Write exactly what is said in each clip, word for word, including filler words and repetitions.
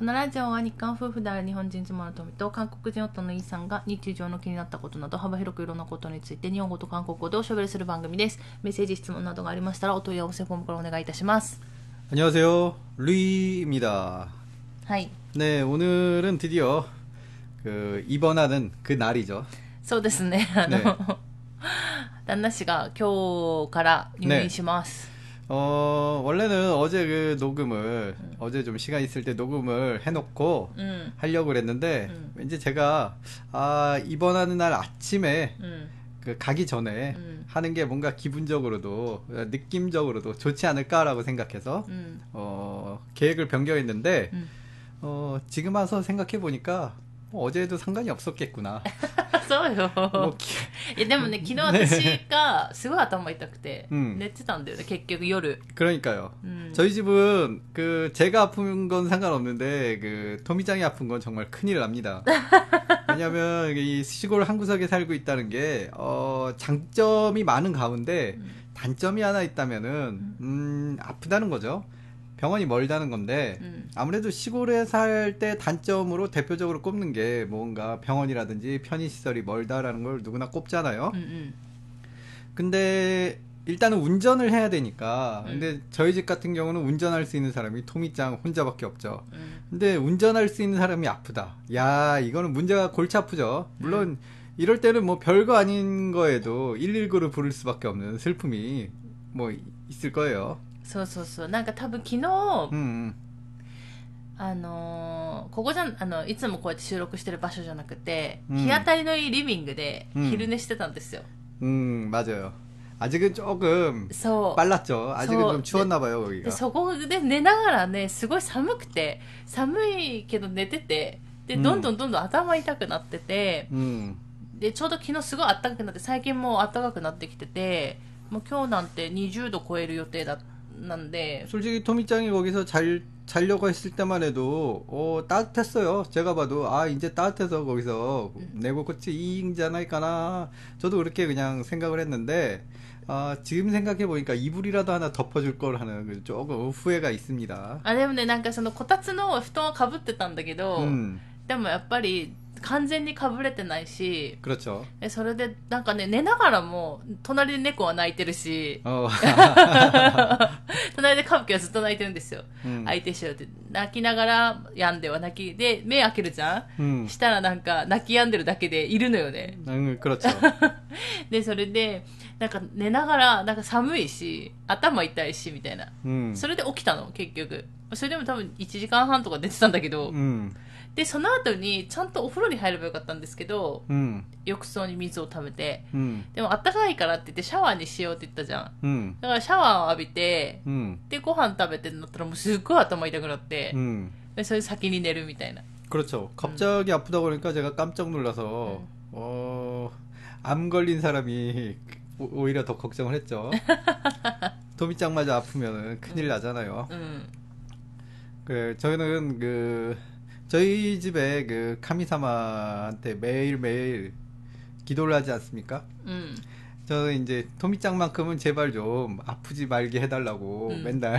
このラジオは日韓夫婦である日本人妻の富と韓国人夫のイさんが日常の気になったことなど幅広くいろんなことについて日本語と韓国語でおしゃべりする番組です。メッセージ質問などがありましたらお問い合わせフォームからお願いいたします。 안녕하세요. 루이입니다. 하이. 네, 오늘은 드디어 그 입원하는 그 날이죠. そうですね。あの、 ね旦那氏が今日から入院します。 어, 원래는 어제 그 녹음을, 음. 어제 좀 시간 있을 때 녹음을 해놓고 음. 하려고 그랬는데, 음. 왠지 제가, 아, 입원하는 날 아침에, 음. 그 가기 전에 음. 하는 게 뭔가 기분적으로도, 느낌적으로도 좋지 않을까라고 생각해서, 음. 어, 계획을 변경했는데, 음. 어, 지금 와서 생각해보니까, 뭐 어제도 상관이 없었겠구나. そうよ。いやでもね、昨日私がすごい頭痛くて寝てたんだよね、結局夜。 그러니까요. 음. 저희 집은 그 제가 아픈 건 상관없는데 그 토미짱이 아픈 건 정말 큰일 납니다. 왜냐면 이 시골 한 구석에 살고 있다는 게 어, 장점이 많은 가운데 음. 단점이 하나 있다면은 음, 아프다는 거죠. 병원이 멀다는 건데 음. 아무래도 시골에 살 때 단점으로 대표적으로 꼽는 게 뭔가 병원이라든지 편의시설이 멀다라는 걸 누구나 꼽잖아요. 음, 음. 근데 일단은 운전을 해야 되니까 음. 근데 저희 집 같은 경우는 운전할 수 있는 사람이 토미짱 혼자밖에 없죠. 음. 근데 운전할 수 있는 사람이 아프다. 야, 이거는 문제가 골치 아프죠. 물론 음. 이럴 때는 뭐 별거 아닌 거에도 일일구를 부를 수밖에 없는 슬픔이 뭐 있을 거예요. そうそうそう。なんか多分昨日、 うん、 あのー、ここじゃあのいつもこうやって収録してる場所じゃなくて、うん、日当たりのいいリビングで昼寝してたんですよ。 うん、맞아요。아직은 조금 빨랐죠. 아직은 좀 추웠나 봐요, 거기가. そこで寝ながらね、すごい寒くて、寒いけど寝てて、でどんどんどんどん頭痛くなってて、うん、でちょうど昨日すごい暖かくなって、最近もう暖かくなってきてて、もう今日なんてにじゅうど超える予定だった。 난데 솔직히 토미짱이 거기서 잘 자려고 했을 때만 해도 어, 따뜻했어요. 제가 봐도 아 이제 따뜻해서 거기서 내고 끝이 이잉자나이까나 저도 그렇게 그냥 생각을 했는데 아, 지금 생각해 보니까 이불이라도 하나 덮어줄 걸 하는 조금 후회가 있습니다. 아, でもね、なんかそのこたつの布団をかぶってたんだけど、でもやっぱり完全にかぶれてないし、 그렇죠. それでなんかね、寝ながらも隣で猫は泣いてるし、隣でカブキはずっと泣いてるんですよ。相手しろって泣きながら病んでは泣きで目開けるじゃん。したらなんか泣き止んでるだけでいるのよね。 그렇죠. でそれでなんか寝ながらなんか寒いし頭痛いしみたいな。それで起きたの結局。それでも多分いちじかんはんとか寝てたんだけど。 でその後にちゃんとお風呂に入ればよかったんですけど、うん、浴槽に水を溜めて、うん、でもあったかいからって言ってシャワーにしようって言ったじゃん、うん、だからシャワーを浴びて、うん、でご飯食べてなったらもうすっごい頭痛くなって、うん、でそれで先に寝るみたいな。 그렇죠. 갑자기 음. 아프다고 그러니까 제가 깜짝 놀라서 음. 어, 암 걸린 사람이 오히려 더 걱정을 했죠. 토미짱마저 아프면 큰일 나잖아요. 음. 그 저희는 그 저희 집에 그 카미사마한테 매일매일 기도를 하지 않습니까? 음. 저는 이제 토미짱만큼은 제발 좀 아프지 말게 해달라고 음. 맨날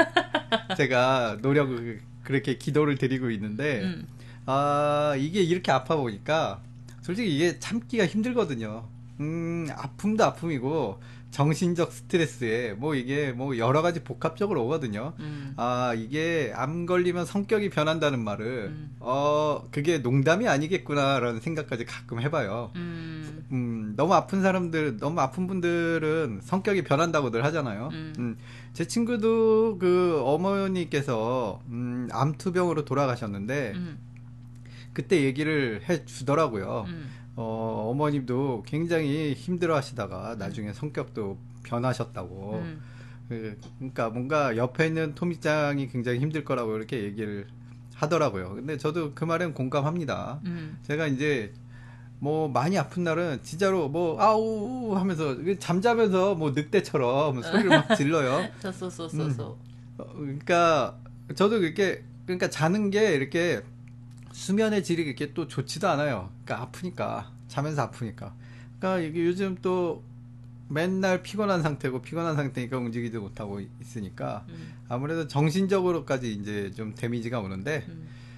제가 노력을 그렇게 기도를 드리고 있는데 음. 아 이게 이렇게 아파 보니까 솔직히 이게 참기가 힘들거든요. 음 아픔도 아픔이고 정신적 스트레스에 뭐 이게 뭐 여러 가지 복합적으로 오거든요. 음. 아 이게 암 걸리면 성격이 변한다는 말을 음. 어 그게 농담이 아니겠구나라는 생각까지 가끔 해봐요. 음. 음 너무 아픈 사람들 너무 아픈 분들은 성격이 변한다고들 하잖아요. 음. 음, 제 친구도 그 어머니께서 음, 암투병으로 돌아가셨는데 음. 그때 얘기를 해주더라고요. 음. 어, 어머님도 굉장히 힘들어 하시다가 나중에 성격도 변하셨다고. 음. 그, 그러니까 뭔가 옆에 있는 토미짱이 굉장히 힘들 거라고 이렇게 얘기를 하더라고요. 근데 저도 그 말엔 공감합니다. 음. 제가 이제 뭐 많이 아픈 날은 진짜로 뭐 아우 하면서 잠자면서 뭐 늑대처럼 소리를 막 질러요. 음. 어, 그러니까 저도 그렇게 그러니까 자는 게 이렇게 수면의 질이 그렇게 또 좋지도 않아요. 그러니까 아프니까 자면서 아프니까. 그러니까 이게 요즘 또 맨날 피곤한 상태고 피곤한 상태니까 움직이지 못하고 있으니까 음. 아무래도 정신적으로까지 이제 좀 데미지가 오는데 음.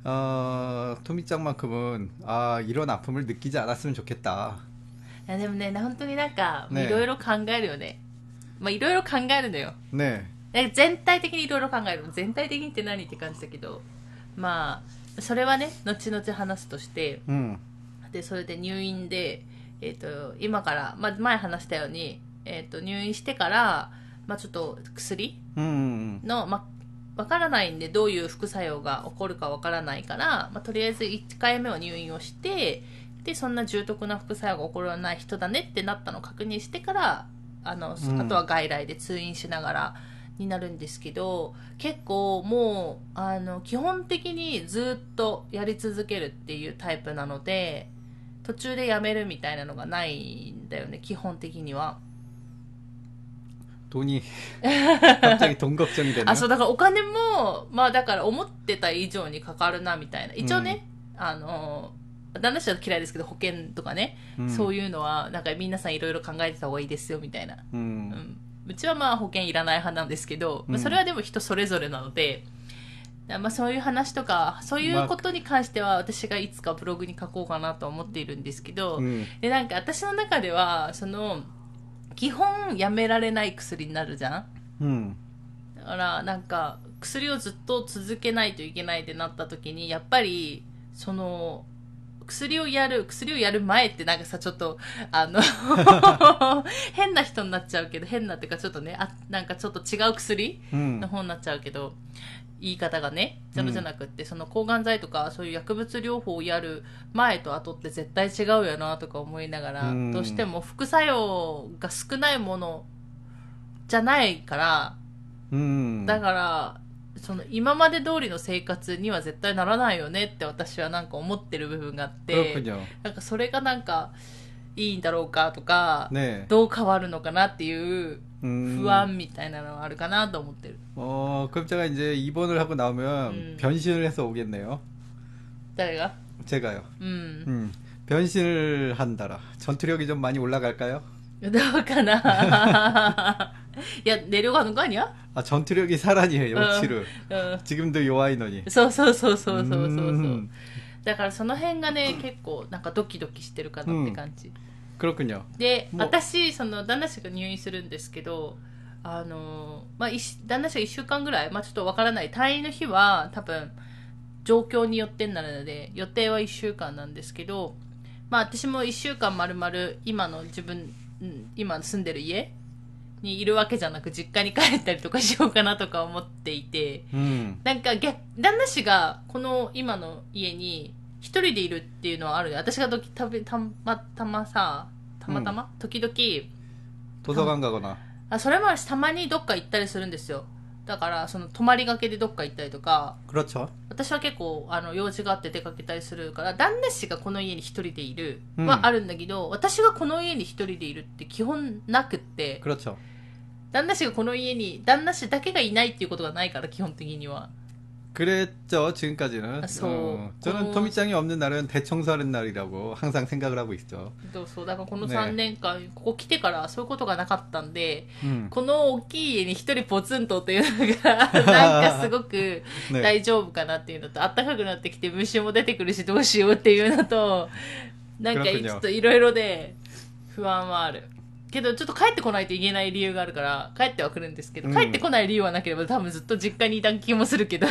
어, 토미짱만큼은 아 이런 아픔을 느끼지 않았으면 좋겠다. いやでもね、本当になんか、いろいろ考えるよね。まあ、いろいろ考えるのよ。 ねえ全体的にいろいろ考える。全体的にって何って感じだけど、まあ、それはね、後々話すとして、 うん、 で、それで入院で、えっと、今から、まあ、前話したように、えっと、入院してから、まあ、ちょっと薬の、まあ、わからないんで、どういう副作用が起こるかわからないから、まあ、とりあえずいっかいめは入院をして、で、そんな重篤な副作用が起こらない人だねってなったのを確認してから、あの、うん、あとは外来で通院しながらになるんですけど、結構もう、あの、基本的にずっとやり続けるっていうタイプなので、途中でやめるみたいなのがないんだよね、基本的には。 돈이 갑자기 돈 걱정이 되네요. あ、そう、だからお金も、まあだから思ってた以上にかかるなみたいな。一応ね、うん、あの、旦那氏は嫌いですけど、保険とかね、うん、そういうのは、なんか皆さんいろいろ考えてた方がいいですよ、みたいな。うん。うん、うちはまあ保険いらない派なんですけど、うん、まあ、それはでも人それぞれなので、まあそういう話とか、そういうことに関しては私がいつかブログに書こうかなと思っているんですけど、うん、で、なんか私の中では、その、基本やめられない薬になるじゃん、うん、だからなんか薬をずっと続けないといけないってなった時にやっぱりその薬をやる薬をやる前ってなんかさちょっとあの変な人になっちゃうけど変なっていうかちょっとねあなんかちょっと違う薬の方になっちゃうけど、うん、言い方がねじゃじゃなくって、うん、その抗がん剤とかそういう薬物療法をやる前と後って絶対違うよなとか思いながら、うん、どうしても副作用が少ないものじゃないから、うん、だからその今まで通りの生活には絶対ならないよねって私はなんか思ってる部分があってなんかそれがなんかいいんだろうかとか、ね、どう変わるのかなっていう不安みたいなのはあるかなと思ってる。 어, 그럼 제가 이제 입원을 하고 나오면 음. 변신을 해서 오겠네요. 誰が? 제가요. 음. 음. 변신을 한다라. 전투력이 좀 많이 올라갈까요? どうかな。いや、내려가는 거 아니야? 아, 전투력이 살아니에요, 요치를. 어, 어. 지금도 요아이너니. そうそうそうそうそうそうそう。だからその辺がね、結構なんかドキドキしてるかなって感じ。 그렇군요. で、私、その旦那氏が入院するんですけど、あの、まあ、旦那氏がいっしゅうかんぐらい、まあ、ちょっとわからない。退院の日は多分、状況によってになるので、予定はいっしゅうかんなんですけど、まあ、私もいっしゅうかん丸々、今の自分、今住んでる家にいるわけじゃなく、実家に帰ったりとかしようかなとか思っていて、うん、なんか逆、旦那氏がこの今の家に一人でいるっていうのはあるね。私がどきたたまたまさ、たまたま、うん、時々、 図書館가거나 あ、それもあるし、たまにどっか行ったりするんですよ。だから、その、泊まりがけでどっか行ったりとか。 그렇죠。 私は結構、あの、用事があって出かけたりするから、旦那氏がこの家に一人でいるはあるんだけど、うん、私がこの家に一人でいるって基本なくって。 그렇죠。 旦那氏がこの家に、旦那氏だけがいないっていうことがないから、基本的には。 그랬죠 지금까지는. 아, 어, 저는 토미짱이 없는 날은 대청소하는 날이라고 항상 생각을 하고 있죠. そうだからこのさんねんかん、ね、ここ来てからそういうことがなかったんで、うん、この大きい家に一人ポツンとっていうのがなんかすごく大丈夫かなっていうのと、ね、暖かくなってきて虫も出てくるしどうしようっていうのと、なんかちょっといろいろで不安はある。けどちょっと帰ってこないといけない理由があるから帰ってはくるんですけど、帰ってこない理由はなければ多分ずっと実家にいた気もするけど。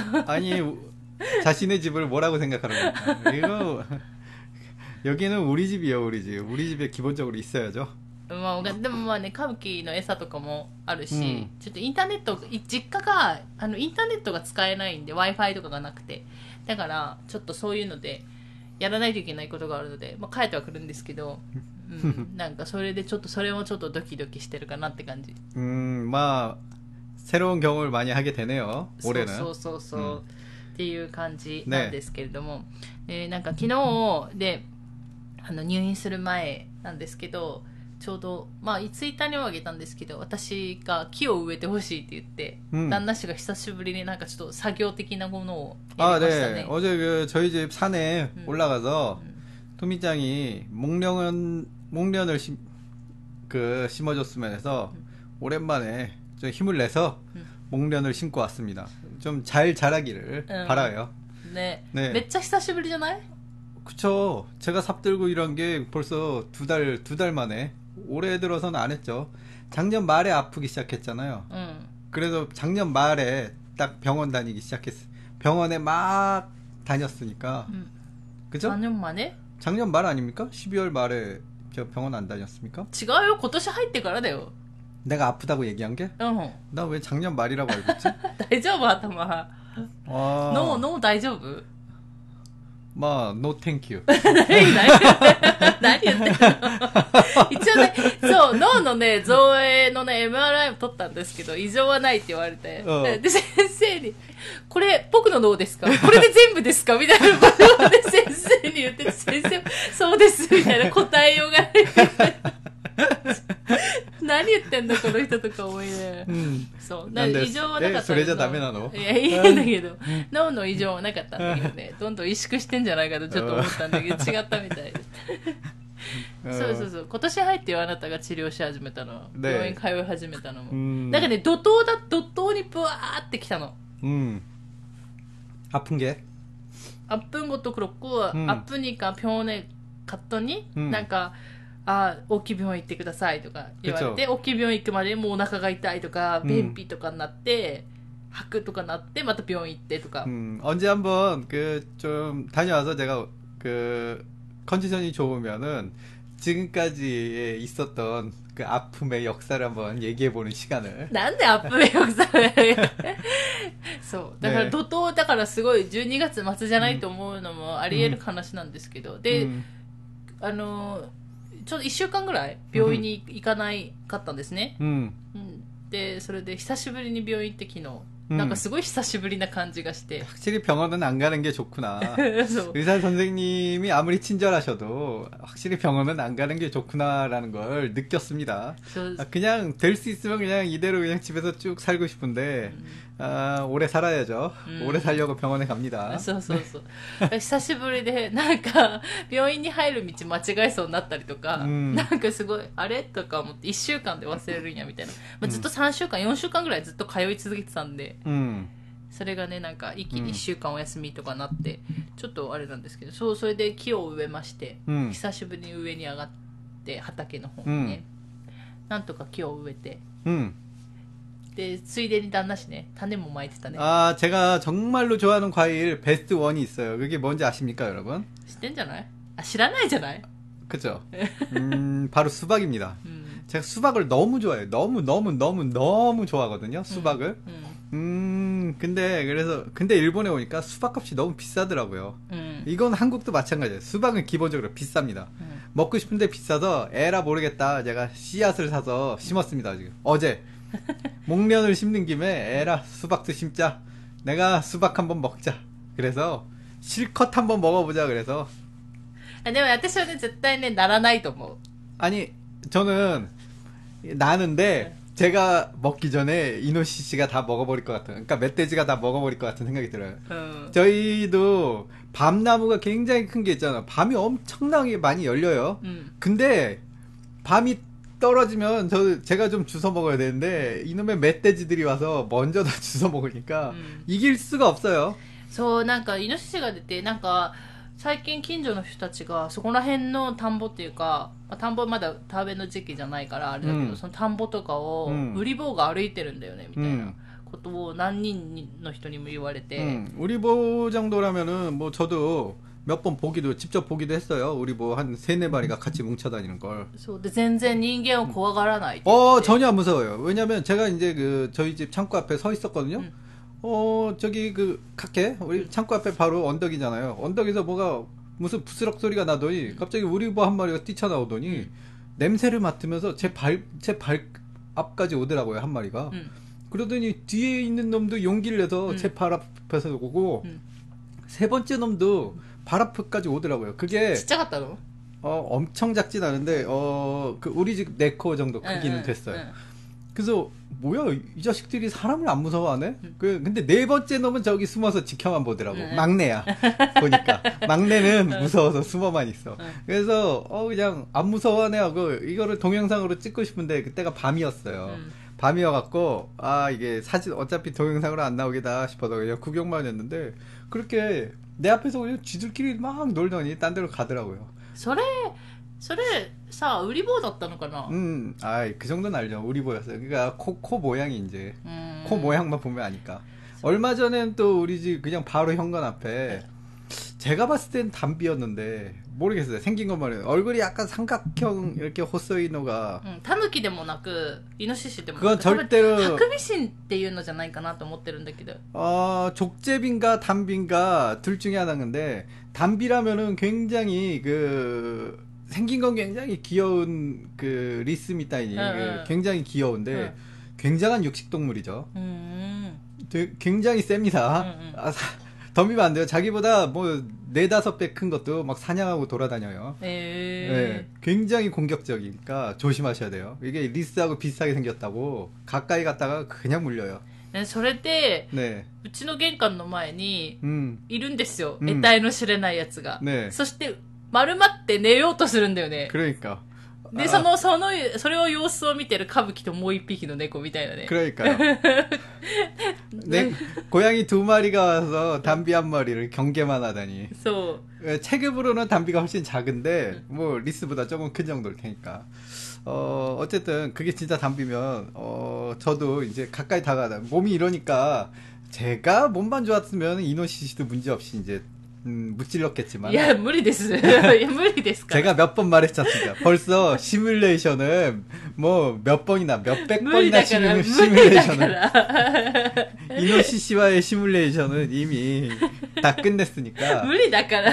아니자신의집을뭐라고생각하는거야이거여기는우리집이요우리집우리집에기본적으로있어야죠。 まあ、でもまあね、歌舞伎の餌とかもあるし、うん、ちょっとインターネット、実家が、あの、インターネットが使えないんで、Wi-Fi とかがなくて。だから、ちょっとそういうので、やらないといけないことがあるので、まあ、帰ってはくるんですけど、うん、なんかそれでちょっと、それもちょっとドキドキしてるかなって感じ。 うん、まあ、새로운경험을많이하게되네요 올해는。 そうそうそうそう、うん、っていう感じなんですけれども、ねえー、なんか昨日で、あの、入院する前なんですけど、ちょうど、まあ、ツイッターにもあげたんですけど、私が木を植えてほしいって言って、うん、旦那氏が久しぶりになんかちょっと作業的なものをやりましたね。 あ、ね。어제그저희집산에 음. 올라가서 음. 토미짱이 목련은 목련을 심, 그 심어줬으면 해서 음. 오랜만에 좀 힘을 내서 음. 목련을 심고 왔습니다. 좀 잘 자라기를 음. 바라요. ね. 네. めっちゃ久しぶりじゃない? 그쵸. 제가 삽 들고 이런 게 벌써 두 달, 두 달 만에. 올해 들어서는 안 했죠. 작년 말에 아프기 시작했잖아요. 응. 그래서 작년 말에 딱 병원 다니기 시작했어요. 병원에 막 다녔으니까. 응. 그죠? 작년 만에? 작년 말 아닙니까? 십이월 말에 저 병원 안 다녔습니까? 違うよ. 今年入ってからだよ. 내가 아프다고 얘기한 게? 응. 나 왜 작년 말이라고 알고 있지? 大丈夫頭. 노, 노 大丈夫? 마, no thank you. 何何言ってんの一応ね、そう、脳のね、造影のね、エムアールアイ を取ったんですけど、異常はないって言われて。で、先生に、これ、僕の脳ですかこれで全部ですかみたいなことをね、先生に言ってて、先生、そうです、みたいな答えようがない。何言ってんだこの人とか思いね、うん、そうだ異常はなかったそれじゃダメなのいやいいんだけど脳の異常はなかったんだけどねどんどん萎縮してんじゃないかとちょっと思ったんだけど違ったみたいでそうそうそう今年入ってよあなたが治療し始めたの、ね、病院通い始めたのもだからね怒涛だ怒涛にブワーってきたのうん아픈 게 아픈 것도 그렇고 음. 아프니까 병원에 갔더니 음. なんかあ大きい病院行ってくださいとか言われて大きい病院行くまでもうお腹が痛いとか便秘とかになって、うん、吐くとかなってまた病院行ってとか 음, 언제 한번 그 좀 다녀와서 제가 그 컨디션이 좋으면은 지금까지 있었던 그 아픔의 역사를 한번 얘기해보는 시간을 なんで아픔의 역사를 そうだから怒涛だからすごいじゅうにがつ末じゃないと思うのもあり得る話なんですけど、うん、で、うん、あのちょっといっしゅうかんぐらい病院に行かないかったんですね、 うんうん、でそれで久しぶりに病院行って昨日なんかすごい久しぶりな感じがして 확실히 병원은 안 가는 게 좋구나 의사 선생님이 아무리 친절하셔도 확실히 병원은 안 가는 게 좋구나라는 걸 느꼈습니다 아, 그냥 될 수 있으면 그냥 이대로 그냥 집에서 쭉 살고 싶은데 음. 아, 오래 살아야죠 음. 오래 살려고 병원에 갑니다 そうそうそう久しぶりでなんか病院に入る道間違えそうになったりとか、うん、なんかすごいあれとか思っていっしゅうかんで忘れるんやみたいな、まあ、ずっとさんしゅうかんよんしゅうかんぐらいずっと通い続けてたんで、 うん、 それがねなんか一気にいっしゅうかんお休みとかなって、うん、ちょっとあれなんですけどそうそれで木を植えまして、うん、久しぶりに上に上がって畑の方にね、うん、なんとか木を植えて、 うん、 でついでに旦那氏ね種もまいてたね 아 제가 정말로 좋아하는 과일 베스트 원이 있어요 그게 뭔지 아십니까 여러분? 知ってんじゃない? 아, 知らないじゃない? 그죠 음, 바로 수박입니다 음. 제가 수박을 너무 좋아해요 너무 너무 너무 너무 좋아하거든요 수박을 음, 음. 음 근데 그래서 근데 일본에 오니까 수박값이 너무 비싸더라고요 음. 이건 한국도 마찬가지예요 수박은 기본적으로 비쌉니다 음. 먹고 싶은데 비싸서 에라 모르겠다 제가 씨앗을 사서 심었습니다 지금 어제 목련을 심는 김에 에라 수박도 심자 내가 수박 한번 먹자 그래서 실컷 한번 먹어보자 그래서 でも私はね絶対ねならないと思う 아니 저는 나는데 제가 먹기 전에 이노시시가 다 먹어버릴 것 같아요 그러니까 멧돼지가 다 먹어버릴 것 같은 생각이 들어요 음. 저희도 밤나무가 굉장히 큰 게 있잖아요 밤이 엄청나게 많이 열려요 음. 근데 밤이 떨어지면 저 제가 좀 주워 먹어야 되는데 이놈의 멧돼지들이 와서 먼저 다 주워 먹으니까 음. 이길 수가 없어요. そうなんかイノシシが出てなんか最近近所の人たちがそこら辺の田んぼっていうか、まあ、田んぼまだ田植えの時期じゃないからあれだけど、うん、その田んぼとかを売り坊が歩いてるんだよねみたいなことを何人の人にも言われて、 음, 우리보 정도라면은 뭐 저도 몇 번 보기도 직접 보기도 했어요. 우리 뭐 한 세네 마리가 같이 뭉쳐 다니는 걸. そうで全然人間を怖がらない. 어 전혀 안 무서워요. 왜냐면 제가 이제 그 저희 집 창고 앞에 서 있었거든요. 음. 어 저기 그 카케 우리 창고 앞에 바로 언덕이잖아요. 언덕에서 뭐가 무슨 부스럭 소리가 나더니 음. 갑자기 우리 뭐 한 마리가 뛰쳐나오더니 음. 냄새를 맡으면서 제 발 제 발 앞까지 오더라고요 한 마리가. 음. 그러더니 뒤에 있는 놈도 용기를 내서 음. 제 발 앞에서 오고 음. 세 번째 놈도 발 앞까지 오더라고요. 그게 진짜 같다고? 어 엄청 작진 않은데 어 그 우리 집 네 코 정도 크기는 응, 됐어요. 응. 그래서 뭐야 이 자식들이 사람을 안 무서워하네? 응. 그 근데 네 번째 놈은 저기 숨어서 지켜만 보더라고. 응. 막내야 보니까 막내는 무서워서 숨어만 있어. 응. 그래서 어 그냥 안 무서워하네 하고 이거를 동영상으로 찍고 싶은데 그때가 밤이었어요. 응. 밤이어갖고 아 이게 사진 어차피 동영상으로 안 나오겠다 싶어서 그냥 구경만 했는데 그렇게 내 앞에서 그냥 쥐들끼리 막 놀더니 딴 데로 가더라고요. それそれさ売り棒だったのかな? 음, 아, 그 정도는 알죠. 우리보였어요. 그러니까 코, 코 모양이 이제 음. 코 모양만 보면 아니까. 얼마 전엔 또 우리 집 그냥 바로 현관 앞에 네. 제가 봤을 땐 담비였는데 모르겠어요. 생긴 것만 해요. 얼굴이 약간 삼각형 이렇게 호소이노가. 응, 타누키でもなくイノシシでも 그건 절대로 하크비신っていうのじゃないかなと思ってるんだけど. 어, 족제비인가 담비인가 둘 중에 하나인데 담비라면은 굉장히 그 생긴 건 굉장히 귀여운 그 리스미타이니 응, 그 굉장히 귀여운데 응. 굉장한 육식 동물이죠. 음. 굉장히 셉니다. 응, 응. 아, 덤비면 안 돼요. 자기보다 뭐 네다섯 배 큰 것도 막 사냥하고 돌아다녀요. 네, 굉장히 공격적이니까 조심하셔야 돼요. 이게 리스하고 비슷하게 생겼다고 가까이 갔다가 그냥 물려요. それで、ね、うちの玄関の前にいるんですよ。得体の知れないやつが。ね、そして丸まって寝ようとするんだよね。 그러니까。 で、その、その、それを様子を見てるカブキともう一匹の猫みたいなね。 그러니까요. 네, 고양이 두 마리가 와서 담비 한 마리를 경계만 하다니. So. 체급으로는 담비가 훨씬 작은데, 뭐, 리스보다 조금 큰 정도일 테니까. 어, 어쨌든, 그게 진짜 담비면, 어, 저도 이제 가까이 다가다. 몸이 이러니까, 제가 몸만 좋았으면 이노시시도 문제없이 이제, 음, 무찔렀겠지만. 야, 무리です. 야, 무리です. 제가 몇 번 말했지 않습니까? 벌써 시뮬레이션은 뭐 몇 번이나 몇백 번이나 시뮬, 시뮬레이션을 이노시시와의 시뮬레이션은 이미 다 끝냈으니까. 무리 だから.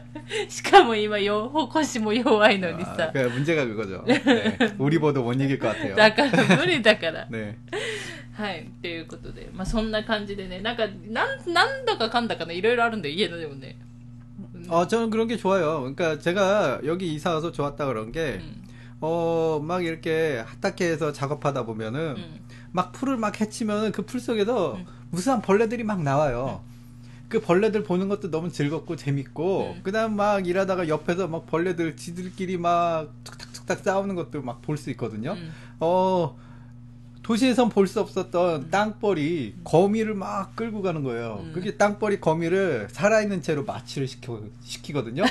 しかも今腰も弱いのにさ. 아, 그 문제가 그거죠. 네. 우리 보도 못 이길 것 같아요. だから無理だから. 네. はい。ということで、まあそんな感じでね、なんか、なん、なんだかかんだかね、いろいろあるんだよ、家のでもね。 어, 저는 그런 게 좋아요. 그러니까 제가 여기 이사 와서 좋았다 그런 게, 음. 어, 막 이렇게 핫타케에서 작업하다 보면은, 음. 막 풀을 막 헤치면은 그 풀 속에서 음. 무수한 벌레들이 막 나와요. 음. 그 벌레들 보는 것도 너무 즐겁고 재밌고, 음. 그 다음 막 일하다가 옆에서 막 벌레들 지들끼리 막 툭탁툭탁 싸우는 것도 막 볼 수 있거든요. 음. 어, 도시에선 볼 수 없었던 음. 땅벌이 거미를 막 끌고 가는 거예요. 음. 그게 땅벌이 거미를 살아있는 채로 마취를 시켜, 시키거든요.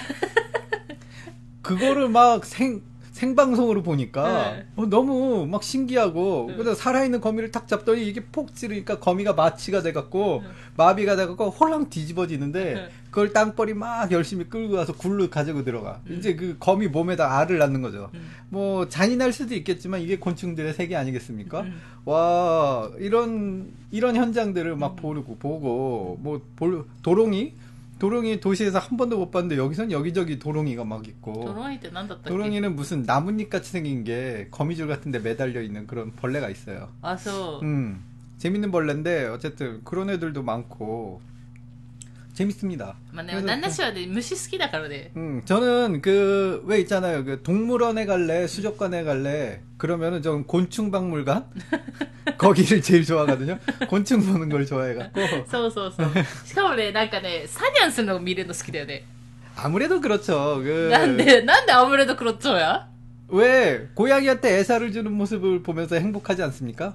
그거를 막 생, 생방송으로 보니까 네. 어, 너무 막 신기하고 네. 그래서 살아있는 거미를 탁 잡더니 이게 폭 찌르니까 거미가 마취가 돼갖고 네. 마비가 돼갖고 홀랑 뒤집어지는데 네. 그걸 땅벌이 막 열심히 끌고 가서 굴로 가지고 들어가. 음. 이제 그 거미 몸에다 알을 낳는 거죠. 음. 뭐 잔인할 수도 있겠지만 이게 곤충들의 세계 아니겠습니까? 음. 와 이런 이런 현장들을 막 음. 보고 보고 뭐 볼, 도롱이 도롱이 도시에서 한 번도 못 봤는데 여기선 여기저기 도롱이가 막 있고. 도롱이 때 난다ったっけ? 도롱이는 무슨 나뭇잎 같이 생긴 게 거미줄 같은데 매달려 있는 그런 벌레가 있어요. 아, 소. 음, 재밌는 벌레인데 어쨌든 그런 애들도 많고 재밌습니다. 맞네. 난나씨와 무시 好きだからね. 음, 저는 그 왜 있잖아요. 그 동물원에 갈래, 수족관에 갈래. 그러면은 좀 곤충박물관 거기를 제일 좋아하거든요. 곤충 보는 걸 좋아해갖고. そうそうそう. しかもね、なんかね、サニャンするのを見るの好きだよね. 아무래도 그렇죠. 그 난데 난데 아무래도 그렇죠야? 왜 고양이한테 애사를 주는 모습을 보면서 행복하지 않습니까?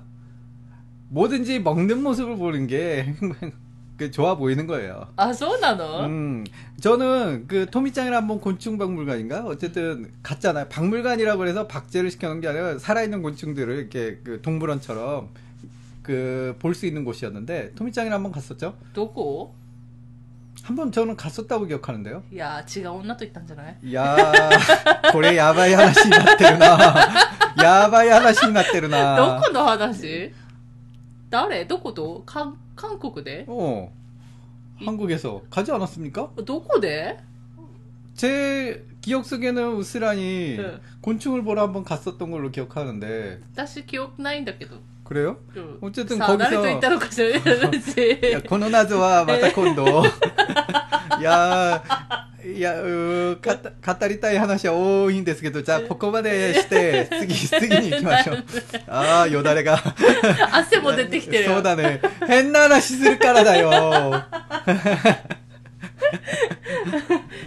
뭐든지 먹는 모습을 보는 게 그 좋아 보이는 거예요. 아, 소나노? 음, 저는 그 토미짱이랑 한번 곤충박물관인가 어쨌든 갔잖아요. 박물관이라고 해서 박제를 시켜놓은 게 아니라 살아있는 곤충들을 이렇게 그 동물원처럼 그 볼 수 있는 곳이었는데 토미짱이랑 한번 갔었죠. どこ? 한번 저는 갔었다고 기억하는데요. 야, 지가 온나 또 있단잖아요. 야, 고래 야바이 하나씩 났대르나. 야바이 하나씩 났대르나. どこの話? 誰? どこど? 강 한국에? 어. 한국에서 가지 않았습니까? どこで? 제 기억 속에는 우스란히 네. 곤충을 보러 한번 갔었던 걸로 기억하는데. 私記憶ないんだけど. 그래요? 응. 어쨌든 사, 거기서. 야, この謎はまた今度. 야, 야, 어, 가,語りたい話は多いんですけど、じゃあここまでして、次、次に行きましょう。ああ、よだれが。 汗も出てきてるよ。 そうだね。変な話するからだよ。はい、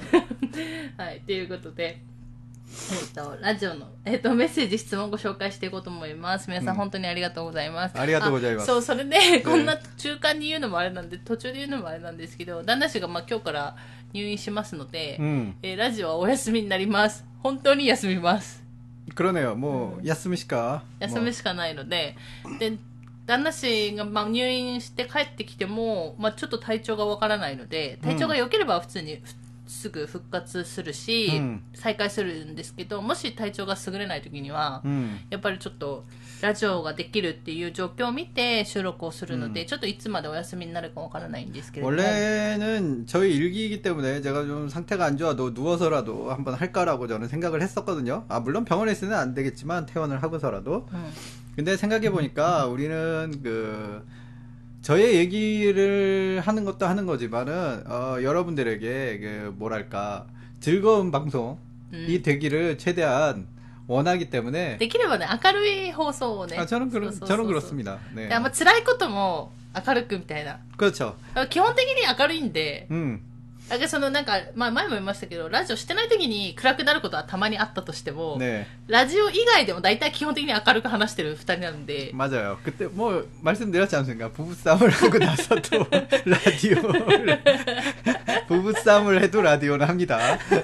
ということで。 っと、ラジオの、えっと、メッセージ、質問をご紹介していこうと思います。皆さん、本当にありがとうございます。 ありがとうございます。 そう、それで、こんな中間に言うのもあれなんで、途中で言うのもあれなんですけど、旦那氏が、まあ、今日から入院しますので、うん、えー、ラジオはお休みになります。本当に休みます。 그러네요。もう、休みしか、 うん、休みしかないので、で、旦那氏が、まあ、入院して帰ってきても、まあ、ちょっと体調がわからないので、体調が良ければ普通に、うんすぐ復活するし、うん、再開するんですけど、もし体調が優れない時には、うん、やっぱりちょっとラジオができるっていう状況を見て収録をするので、うん、ちょっといつまでお休みになるかわからないんですけれども。 원래는 저희 일기이기 때문에 제가 좀 상태가 안 좋아도 누워서라도 한번 할까라고 저는 생각을 했었거든요. 아 물론 병원에 있으면 안 되겠지만 퇴원을 하고서라도. 음. 근데 생각해 보니까 우리는 그 저의 얘기를 하는 것도 하는 거지만은 어, 여러분들에게 그 뭐랄까 즐거운 방송이 음. 되기를 최대한 원하기 때문에 できればね明るい放送をね 아, 저는 그런 저는 그렇습니다. 네. 아마 辛いことも明るくみたいな 그렇죠. 基本的に明るいんで 음. だからそのなんか、まあ、前も言いましたけどラジオしてない時に暗くなることはたまにあったとしても、네. ラジオ以外でも大体基本的に明るく話してる二人なんで 맞아요. 그때 뭐 말씀드렸지 않습니까? 부부싸움을 하고 나서도 라디오를 부부싸움을 해도 라디오를 합니다.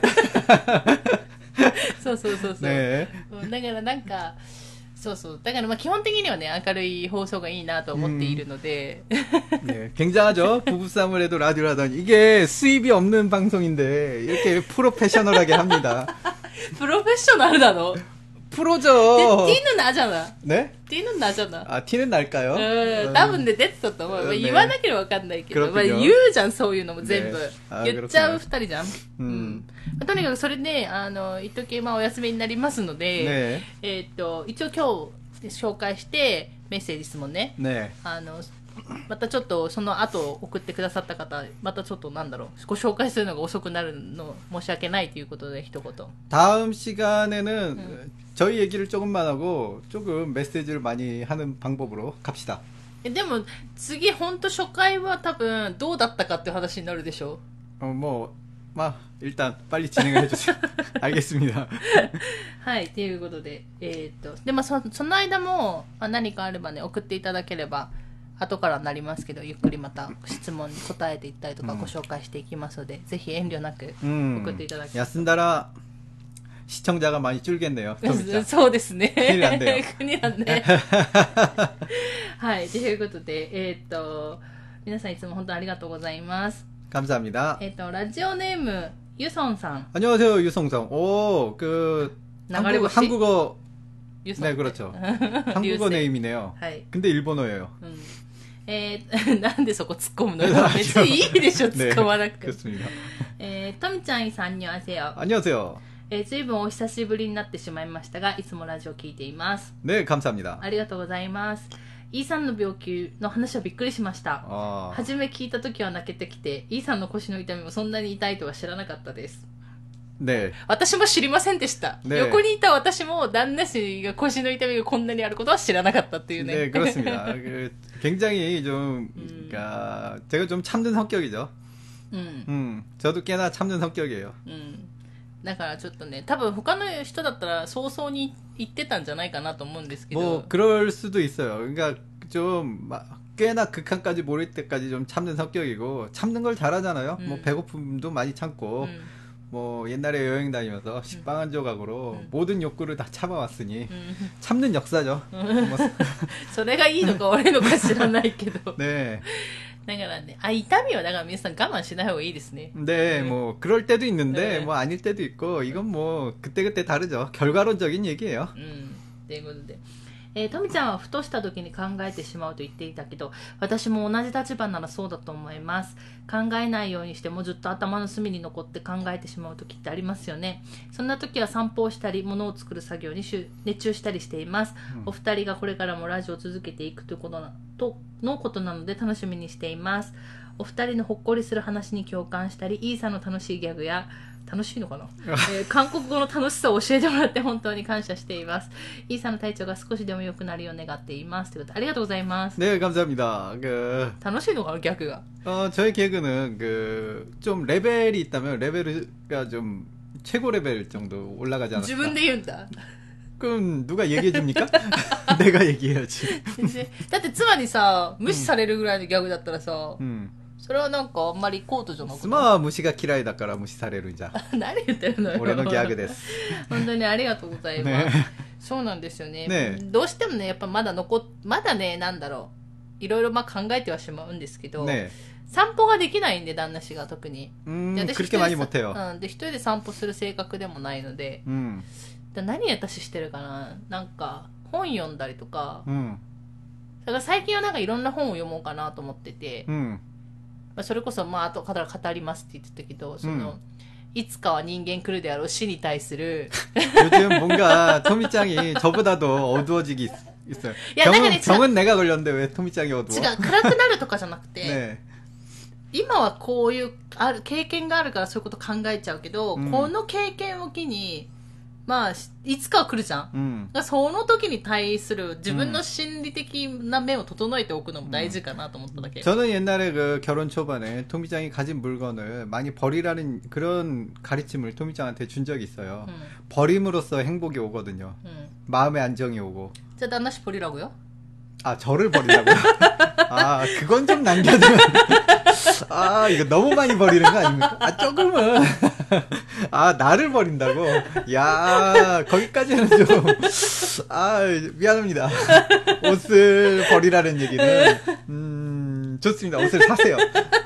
そうそうそうそう、ね、だからなんかそうそう。だからまあ基本的にはね、明るい放送がいいなと思っているので。 음, 네, 굉장하죠? 부부싸움을 해도 라디오를 하더니. 이게 수입이 없는 방송인데, 이렇게 프로페셔널하게 합니다. 프로페셔널 나너? 프로죠. 티는 나잖아. 네? 티는 나잖아. 아, 티는 날까요? 음, 多分ね、出てたと思う。네. 言わなければわかんないけど、まあ、言うじゃん、そういうのも全部。네. 言っちゃう二人じゃん。うん。まあ、とにかくそれで、あの、一時まあお休みになりますので、ね、えっと、一応今日紹介して、メッセージ質問ね。ね。あの、またちょっとその後送ってくださった方、またちょっとなんだろう、ご紹介するのが遅くなるの申し訳ないということで一言。 다음 시간에는 음. 저희 얘기를 조금만 하고 조금 메시지를 많이 하는 방법으로 갑시다. でも次本当初回は多分どうだったかっていう話になるでしょ。 어, 뭐, 마 일단 빨리 진행을 해주세요. 알겠습니다. はい、ということで、えー、っとでもそその間も何かあればね送っていただければ。後からなりますけどゆっくりまた質問に答えていったりとかご紹介していきますので、うん、ぜひ遠慮なく送っていただきたい。 休んだら시청자가 많이 줄겠네요. そうですね。 큰일 났네요. 큰일 났네. はい、ということで、えー、っと皆さんいつも本当にありがとうございます。 감사합니다. えー、っとラジオネームユソンさん。 안녕하세요, 유성상. 오, 그 한국, 한국어 네, 그렇죠. 한국어 네임이네요. 근데 일본어예요. 음. えー、なんでそこ突っ込むの別にいいでしょ、突っ込まなくて。えー、とみちゃんさん、안녕하세요。 안녕하세요。 えー、ずいぶんお久しぶりになってしまいましたが、いつもラジオ聞いています。 ね、감사합니다。 ありがとうございます。E さんの病気の話はびっくりしました。初め聞いた時は泣けてきて、E さんの腰の痛みもそんなに痛いとは知らなかったです。 ね、 私も知りませんでした、ね、横にいた私も旦那氏が腰の痛みがこんなにあることは知らなかったっていうね。 네 그렇습니다. 굉장히 좀 음. 그러니까 제가 좀 참는 성격이죠. 음. 음, 저도 꽤나 참는 성격이에요. 음. だからちょっとね、多分他の人だったら早々に言ってたんじゃないかなと思うんですけど。 뭐 그럴 수도 있어요. 그러니까 좀 꽤나 극한까지 모를 때까지 좀 참는 성격이고 참는 걸 잘하잖아요. 음. 뭐 배고픔도 많이 참고. 음. 뭐 옛날에 여행 다니면서 식빵 한 조각으로 음. 모든 욕구를 다 참아왔으니 음. 참는 역사죠. それがいいのか悪いのか知らないけど。 네. だからね、あ、痛みはだから皆さん我慢しない方がいいですね。 네, 뭐 그럴 때도 있는데 네. 뭐 아닐 때도 있고 이건 뭐 그때그때 다르죠. 결과론적인 얘기예요. 음. ということで。えー、トミちゃんはふとした時に考えてしまうと言っていたけど、私も同じ立場ならそうだと思います。考えないようにしてもずっと頭の隅に残って考えてしまう時ってありますよね。そんな時は散歩をしたり物を作る作業に熱中したりしています。うん、お二人がこれからもラジオを続けていくということなとのことなので楽しみにしています。お二人のほっこりする話に共感したり、イーさんの楽しいギャグや楽しいのかな、えー、韓国語の楽しさを教えてもらって本当に感謝しています。イーさんの体調が少しでも良くなるよう願っています。ということでありがとうございます。 네, 감사합니다. 그... 楽しいのかな、ギャグが。 어, 저의 개그는 그 좀 레벨이 있다면 레벨이 좀 최고 레벨 정도 올라가지 않았을까. 自分で言うんだ。 그럼 누가 얘기해 줍니까? 내가 얘기해야지. だって妻にさ、無視されるぐらいのギャグだったらさ、 음. それはなんかあんまりコートじゃなくて。 妻は無視が嫌いだから無視されるんじゃ。 何言ってるのよ。 俺のギャグです。 本当にありがとうございます。ね、そうなんですよね。ね、どうしてもね、やっぱまだ残っ、まだね、なんだろう。いろいろまあ考えてはしまうんですけど、ね、散歩ができないんで、旦那氏が特に。 うん、で私一人で、 うん、で、一人で散歩する性格でもないので、うん、だ何私してるかな、なんか、本読んだりとか、うん、だから最近はなんかいろんな本を読もうかなと思ってて、うん、まあ、それこそ、まあ、後から語りますって言ってたけど、その、うん、いつかは人間来るであろう死に対する。 요즘뭔가 토미짱이 저보다도 어두워지기 있어요. 야, 병은, 병은 내가 걸렸는데 왜 토미짱이 어두워? 違う、暗くなるとかじゃなくて、ね、今はこういうある経験があるからそういうこと考えちゃうけど、うん、この経験を機に、まあ、いつかは来るじゃん。うん、その時に対する自分の心理的な面を整えておくのも大事かなと思っただけ。 저는 옛날에 그 결혼 초반에 토미짱이 가진 물건을 많이 버리라는 그런 가르침을 토미짱한테 준 적이 있어요. 음. 버림으로써 행복이 오거든요. 음. 마음의 안정이 오고. 자, 단나씨 버리라고요? 아, 저를 버리라고요? 아, 그건 좀 남겨두면. 아, 이거 너무 많이 버리는 거 아닙니까? 아, 조금은. 아, 나를 버린다고? 야, 거기까지는 좀, 아, 미안합니다. 옷을 버리라는 얘기는, 음, 좋습니다. 옷을 사세요.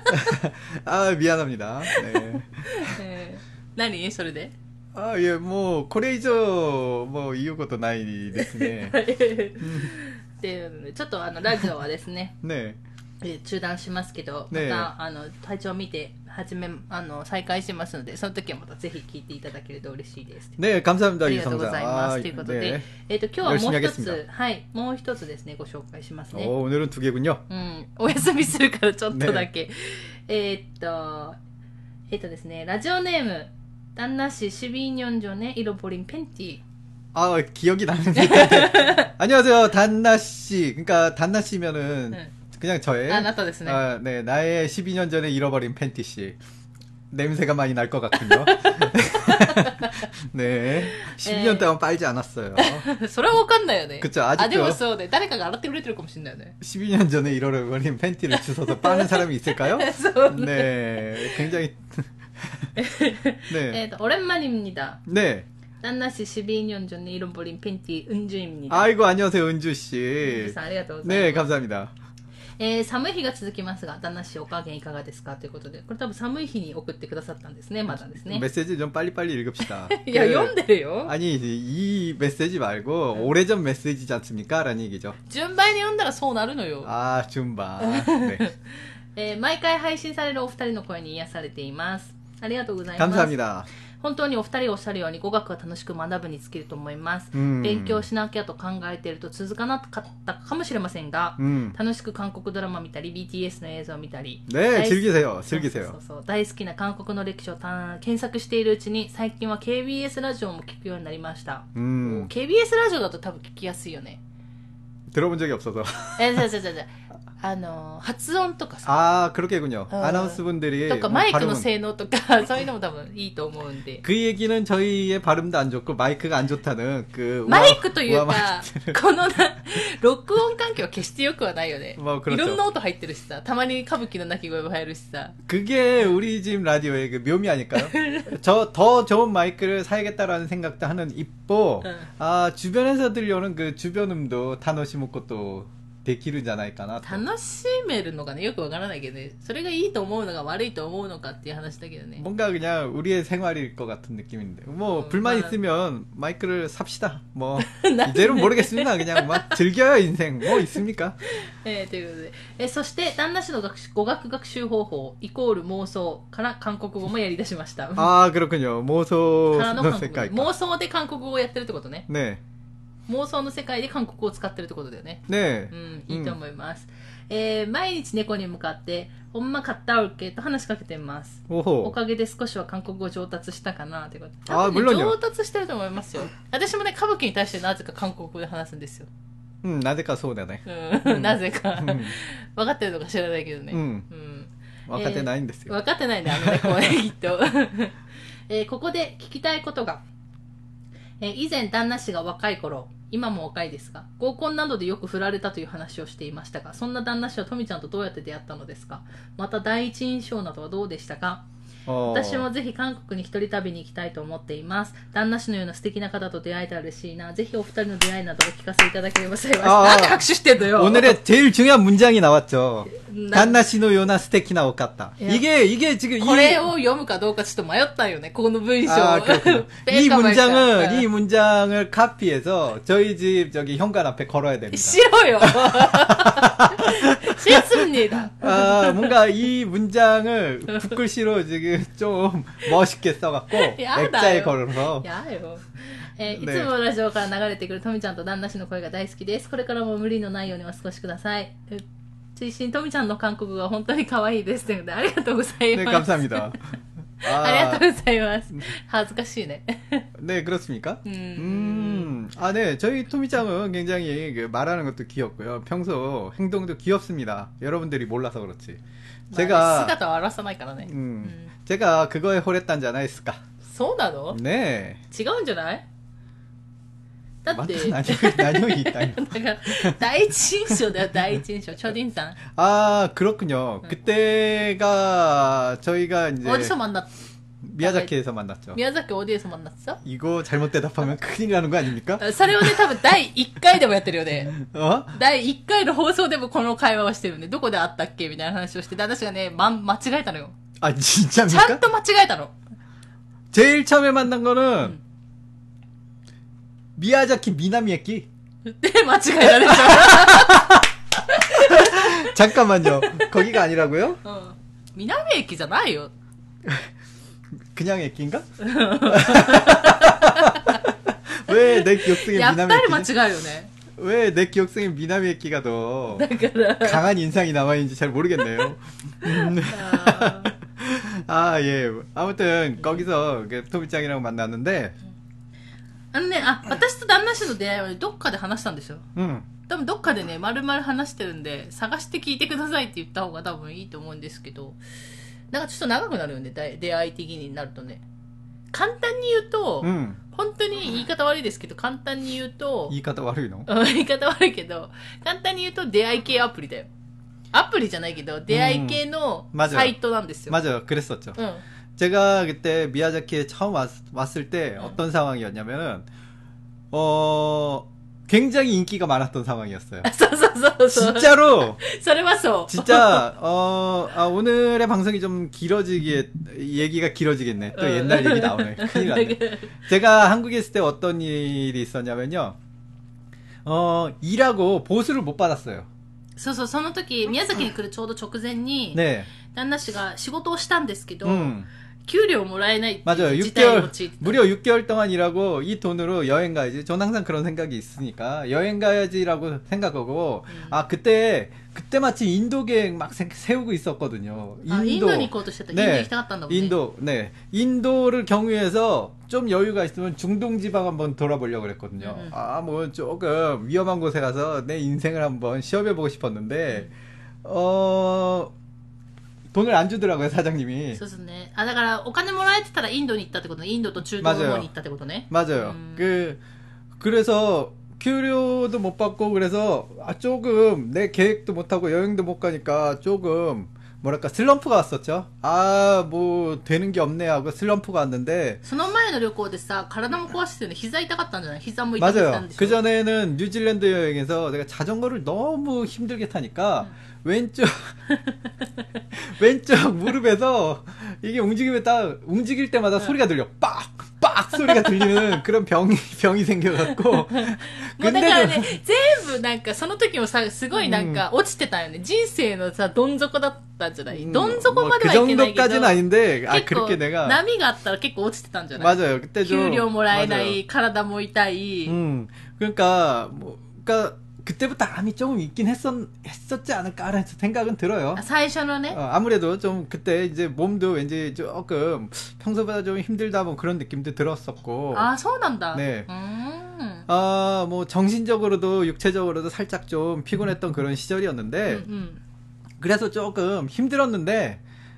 아, 미안합니다. 네. 네. 何それで? 아, 예, 뭐, これ以上、もう言うことないですね。 っていうので、ちょっとあのラジオはですね、 ねえ中断しますけど、またあの体調を見て始めあの再開しますので、その時はまたぜひ聞いていただけると嬉しいです。 ね、감사합니다。 ありがとうございます。ということで、えっと今日はもう一つ、はい、もう一つですねご紹介しますね。 お、오늘은 두 개군요。 うん、お休みするからちょっとだけ。えっとえっとですね、ラジオネーム旦那氏십이 년 전에 잃어버린 팬티。 아, 기억이 나는데. 안녕하세요, 단나씨. 그러니까, 단나씨면은, 네. 그냥 저의. 아, 나도 됐네. 아, 네, 나의 십이 년 전에 잃어버린 팬티씨. 냄새가 많이 날 것 같군요. 네. 십이 년 동안 빨지 않았어요. それはわかんないよね. 그쵸, 아직도. 아, でもそうね。誰かが洗ってくれてるかもしれないよね. 십이 년 전에 잃어버린 팬티를 주워서 빠는 사람이 있을까요? 네. 굉장히. 네. 네, 오랜만입니다. 네. 단나씨 십이 년 전에 잃어버린 팬티 은주입니다. 아이고, 안녕하세요, 은주씨. 은주씨, 감사합니다. 네, 감사합니다. えー、寒い日が続きますが、旦那氏お加減いかがですかということで、これ多分寒い日に送ってくださったんですね、まだですね。 메시지 좀 빨리빨리 읽읍시다. いや、読んでるよ。 아니, 이 메시지 말고 응. 오래전 메시지지 않습니까? 라는 얘기죠. 順番に読んだらそうなるのよ。 아, 준반. 네. えー、毎回配信されるお二人の声に癒されています。ありがとうございます。 감사합니다. 本当にお二人おっしゃるように語学が楽しく学ぶに尽きると思います。勉強しなきゃと考えていると続かなかったかもしれませんが、楽しく韓国ドラマ見たり ビーティーエス の映像を見たり、 ね、즐기세요。즐기세요。 そうそうそう、大好きな韓国の歴史を検索しているうちに最近は ケービーエス ラジオも聞くようになりました。ケービーエス ラジオだと多分聞きやすいよね。 들어본 적이 없어서. え、じゃじゃじゃじゃ。あの発音とかさ、 ああ、그렇게군요。アナウンス분들이 とかマイクの性能とかそういうのも多分いいと思うんで。 그 얘기는 저희의 발음도 안 좋고 마이크가 안 좋다는 그 マイクというかこのな録音環境は決して良くはないよね。いろんな音入ってるしさ、たまに歌舞伎の鳴き声も入るしさ。 그게 우리 집 라디오의 그 묘미 아닐까요? 저 더 좋은 마이크를 사야겠다라는 생각도 하는 입보, 응. 아 주변에서 들려오는 그 주변음도 타노시모코 또できるんじゃないかなと。 楽しめるのがね、よくわからないけどね、それがいいと思うのか悪いと思うのかっていう話だけどね。 뭔가 그냥 우리의 생활일 것 같은 느낌인데, 뭐 음, 불만 있으면 마이크를 삽시다. 뭐 이제는 모르겠습니다. 그냥 막 즐겨요 인생. 뭐 있습니까? えー、ということで、えー、そして旦那氏の語学学習方法イコール妄想から韓国語もやり出しました。 ああ、그렇군요。妄想の世界か。 妄想で韓国語をやってるってことね。 ね。 妄想の世界で韓国語を使ってるってことだよね。 ねえ。 うん、いいと思います。うん、えー、毎日猫に向かって、ほんま買ったおけと話しかけてます。お, おかげで少しは韓国語上達したかなってこと。多分、ね、上達してると思いますよ。私もね、歌舞伎に対してなぜか韓国語で話すんですよ。 うん、なぜかそうだね。 うん、なぜか。うん、分かってるのか知らないけどね。うん。うん、 分かってないんですよ。 えー、分かってないね、あの猫はね、きっと。 えー、ここで聞きたいことが、えー、以前旦那氏が若い頃、今も若いですが、合コンなどでよく振られたという話をしていましたが、そんな旦那氏はとみちゃんとどうやって出会ったのですか？また第一印象などはどうでしたか？私もぜひ韓国に一人旅に行きたいと思っています。旦那氏のような素敵な方と出会えたら嬉しいな。ぜひお二人の出会いなどお聞かせいただければ幸いです。なんで拍手してんのよ。 오늘의 제일 중요한 문장이 나왔죠. 단나 씨의ような素敵なお方. 이게 이게 지금 これを読むかどうかちょっと迷ったよね. この文章. 아, 이 문장을 이 문장을 카피해서 저희 집 저기 현관 앞에 걸어야 됩니다. 싫어요. 싫습니다. 아, 뭔가 이 문장을 붓글씨로 지금 좀 멋있게 써갖고 액자에 걸어서. 야요. えー、いつもラジオから流れてくるとみちゃんと旦那氏の声が大好きです。これからも無理のないようにお過ごしください。追伸とみちゃんの韓国語が本当に可愛いです。というのでありがとうございます。 네, 감사합니다. 아, ありがとうございます。恥ずかしいね. 네, 그렇습니까? 음. 음. 아, 네. 저희 토미짱은 굉장히 그 말하는 것도 귀엽고요. 평소 행동도 귀엽습니다. 여러분들이 몰라서 그렇지. 제가 姿を表さないからね. 음. 음. 제가 그거에惚れたんじゃないですか? そうなの? 네. 違うんじゃない? だって何を言いたいの? だから第一印象だよ第一印象초딩さん. 아 그렇군요. 응. 그때가 저희가 이제 어디서 만났? 미야자키에서 만났죠. 미야자키 어디에서 만났어? 이거 잘못 대답하면 큰일 나는 거 아닙니까? それをね多分だいいっかいでもやってるよね. 어? だいいっかいの放送でもこの会話をしてるよね. どこで会ったっけみたいな話をして旦那氏がね、ま、間違えたのよ. 아 진짜입니까? ちゃんと間違えたの. 제일 처음에 만난 거는 응. 미야자키 미나미에키. 네, 맞추가야죠. 잠깐만요. 거기가 아니라고요? 어. 미나미에키잖아요. 그냥 에키인가? 왜 내 기억성에 미나미에키지? 왜 내 기억성에 미나미에키가 더 강한 인상이 남아있는지 잘 모르겠네요. 아, 예. 아무튼 거기서 토미짱이랑 만났는데 あのね、あ、私と旦那氏の出会いは、ね、どっかで話したんですよ。うん。多分どっかでね、丸々話してるんで、探して聞いてくださいって言った方が多分いいと思うんですけど、なんかちょっと長くなるよね、出会い的になるとね。簡単に言うと、うん、本当に言い方悪いですけど、簡単に言うと、 言い方悪いの？ 言い方悪いけど、簡単に言うと出会い系アプリだよ。アプリじゃないけど、出会い系のサイトなんですよ。 맞아요. 그랬었죠. 응. 제가 그때 미야자키에 처음 왔, 왔을 때 응. 어떤 상황이었냐면은 어 굉장히 인기가 많았던 상황이었어요. 진짜로. 진짜 어 아, 오늘의 방송이 좀 길어지기에 얘기가 길어지겠네. 또 옛날 얘기 나오네. 큰일 났네. 제가 한국에 있을 때 어떤 일이 있었냐면요. 어 일하고 보수를 못 받았어요. そうそう、その時、宮崎に来るちょうど直前に、ね、旦那氏が仕事をしたんですけど、うん、給料もらえないっていう事態に陥ってた。 무려 육 개월 동안 일하고 이 돈으로 여행 가야지. 전 항상 그런 생각이 있으니까 여행 가야지라고 생각하고 음. 아 그때 그때 마치 인도 계획 막 세우고 있었거든요. 인도. 아, 인도니 고도 싶다. 네, 인도行きたかったんだもんね. 인도, 네, 인도를 경유해서 좀 여유가 있으면 중동 지방 한번 돌아보려고 그랬거든요. 음. 아, 뭐 조금 위험한 곳에 가서 내 인생을 한번 시험해보고 싶었는데, 음. 어. 돈을 안 주더라고요, 사장님이. そうですね。あ、だからお金もらえてたらインドに行ったってことね。インドと中東の方に行ったってことね. 맞아요. 음. 그 그래서給料도 못 받고 그래서 아 조금 내 계획도 못 하고 여행도 못 가니까 조금 뭐랄까 슬럼프가 왔었죠. 아, 뭐 되는 게 없네 하고 슬럼프가 왔는데. その前の旅行でさ、体も壊してるの膝痛かったんじゃない?膝も痛かったんでしょ? 맞아요. 그 전에는 뉴질랜드 여행에서 내가 자전거를 너무 힘들게 타니까 음. 왼쪽 왼쪽 무릎에서 이게 움직이면 딱 움직일 때마다 응. 소리가 들려. 빡! 빡! 소리가 들리는 그런 병이 병이 생겨갖고. 근데ね、全部なんかその時もさ、すごいなんか落ちてたよね。人生のさ、どん底だったんじゃない？どん底まではいけないけど。 그 정도까지는 아닌데, 아, 그렇게 내가. 波があったら結構落ちてたんじゃない? 맞아요. 그때 좀. 給料もらえない、体も痛い. 음, 그러니까 뭐, 그러니까. 그때부터 암이 조금 있긴 했었, 했었지 않을까라는 생각은 들어요. 아, 사이셔는 어, 아무래도 좀 그때 이제 몸도 왠지 조금 평소보다 좀 힘들다 뭐 그런 느낌도 들었었고. 아, 서운한다. 네. 음. 아, 뭐 정신적으로도 육체적으로도 살짝 좀 피곤했던 그런 시절이었는데, 음, 음. 그래서 조금 힘들었는데,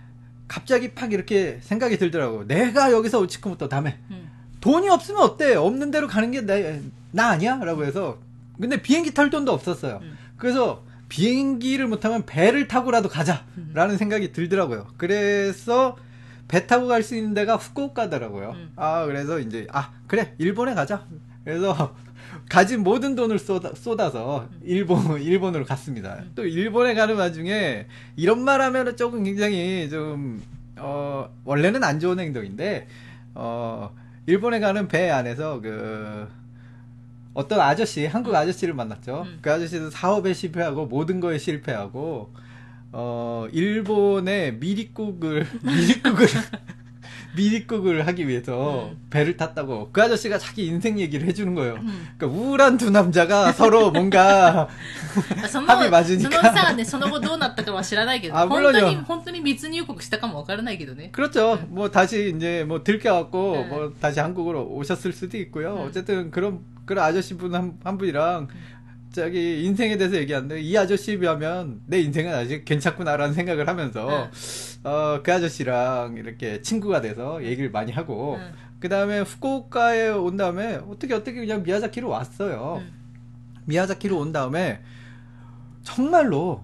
갑자기 팍 이렇게 생각이 들더라고. 내가 여기서 우치쿠모토 다음에 음. 돈이 없으면 어때? 없는 대로 가는 게 나, 나 아니야? 라고 해서. 근데 비행기 탈 돈도 없었어요. 음. 그래서 비행기를 못하면 배를 타고라도 가자. 음. 라는 생각이 들더라고요. 그래서 배 타고 갈 수 있는 데가 후쿠오카더라고요. 음. 아, 그래서 이제, 아, 그래, 일본에 가자. 그래서 가진 모든 돈을 쏟아, 쏟아서 일본, 일본으로 갔습니다. 음. 또 일본에 가는 와중에 이런 말 하면은 조금 굉장히 좀, 어, 원래는 안 좋은 행동인데, 어, 일본에 가는 배 안에서 그, 어떤 아저씨, 한국 아저씨를 만났죠. 음. 그 아저씨도 사업에 실패하고 모든 거에 실패하고, 어, 일본의 미리국을, 미리국을, 미리국을 하기 위해서 음. 배를 탔다고. 그 아저씨가 자기 인생 얘기를 해주는 거예요. 음. 그러니까 우울한 두 남자가 서로 뭔가 합이 맞으니까. そのさね、その後どうなったかは知らないけど、 아, 本当に本当に密入国したかもわからないけどね. 그렇죠. 음. 뭐 다시 이제 뭐 들켜갖고 음. 뭐 다시 한국으로 오셨을 수도 있고요. 음. 어쨌든 그런 그런 아저씨 분 한 한 분이랑. 자기 인생에 대해서 얘기하는데 이 아저씨에 비하면 내 인생은 아직 괜찮구나라는 생각을 하면서 응. 어, 그 아저씨랑 이렇게 친구가 돼서 얘기를 많이 하고 응. 그 다음에 후쿠오카에 온 다음에 어떻게 어떻게 그냥 미야자키로 왔어요. 응. 미야자키로 온 다음에 정말로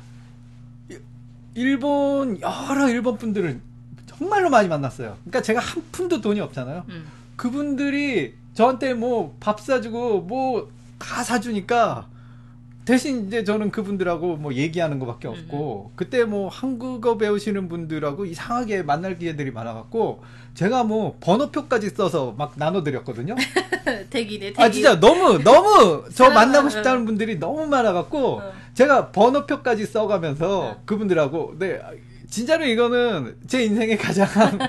일본 여러 일본 분들을 정말로 많이 만났어요. 그러니까 제가 한 푼도 돈이 없잖아요. 그분들이 저한테 뭐 밥 사주고 뭐 다 사주니까 대신 이제 저는 그분들하고 뭐 얘기하는 것밖에 없고 음. 그때 뭐 한국어 배우시는 분들하고 이상하게 만날 기회들이 많아갖고 제가 뭐 번호표까지 써서 막 나눠드렸거든요. 대기네, 대기. 아 진짜 너무 너무 저 만나고 싶다는 분들이 너무 많아갖고 어. 제가 번호표까지 써가면서 어. 그분들하고 네 진짜로 이거는 제 인생에 가장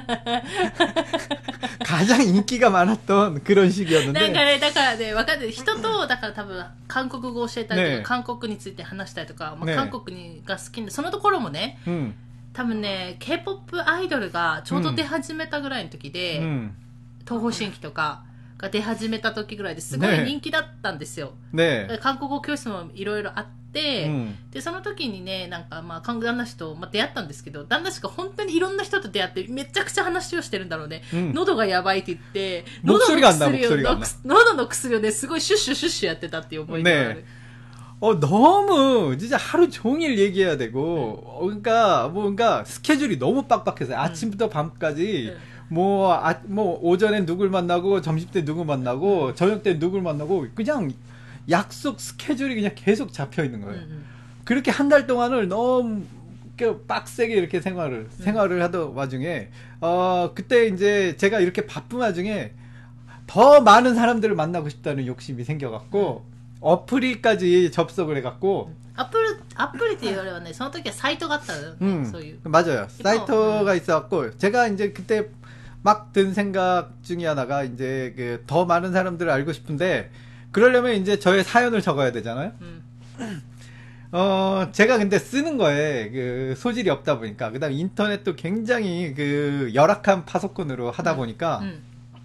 가장 인기가 많았던 그런 시기였는데. なんかね、だからね、わかる。人と、だから多分、韓国語を教えたりとか、ね、韓国について話したりとか、まあ、ね、韓国にが好きで、そのところもね、うん、多分ね、K-ポップ アイドルがちょうど出始めたぐらいの時で、うん、東方神起とかが出始めた時ぐらいですごい人気だったんですよ。ね、韓国語教室もいろいろあって、うん、でその時にねなんかまあ旦那氏と、まあ、出会ったんですけど旦那氏が本当にいろんな人と出会ってめちゃくちゃ話をしてるんだろうね、うん、喉がやばいって言って喉の薬を喉の薬をねすごいシュッシュシュッシュやってたっていう思いがある。 네. 어, 너무, 진짜 하루 종일 얘기해야 되고, 음. 어, 그러니까, 뭐, 그러니까, 스케줄이 너무 빡빡해서요. 아침부터 음. 밤까지, 음. 뭐, 아, 뭐, 오전에 누굴 만나고, 점심 때 누구 만나고, 저녁 때 누굴 만나고, 그냥, 약속 스케줄이 그냥 계속 잡혀 있는 거예요. 음. 그렇게 한 달 동안을 너무, 빡세게 이렇게 생활을, 음. 생활을 하던 와중에, 어, 그때 이제 제가 이렇게 바쁜 와중에, 더 많은 사람들을 만나고 싶다는 욕심이 생겨갖고, 음. 어플이까지 접속을 해갖고 어플 어플이って言われはねその時はサイトがあったの。 음, 맞아요. 사이트가 음. 있어갖고 제가 이제 그때 막 든 생각 중에 하나가 이제 그 더 많은 사람들을 알고 싶은데 그러려면 이제 저의 사연을 적어야 되잖아요. 음. 어 제가 근데 쓰는 거에 그 소질이 없다 보니까 그다음 인터넷도 굉장히 그 열악한 파소콘으로 하다 음. 보니까. 음.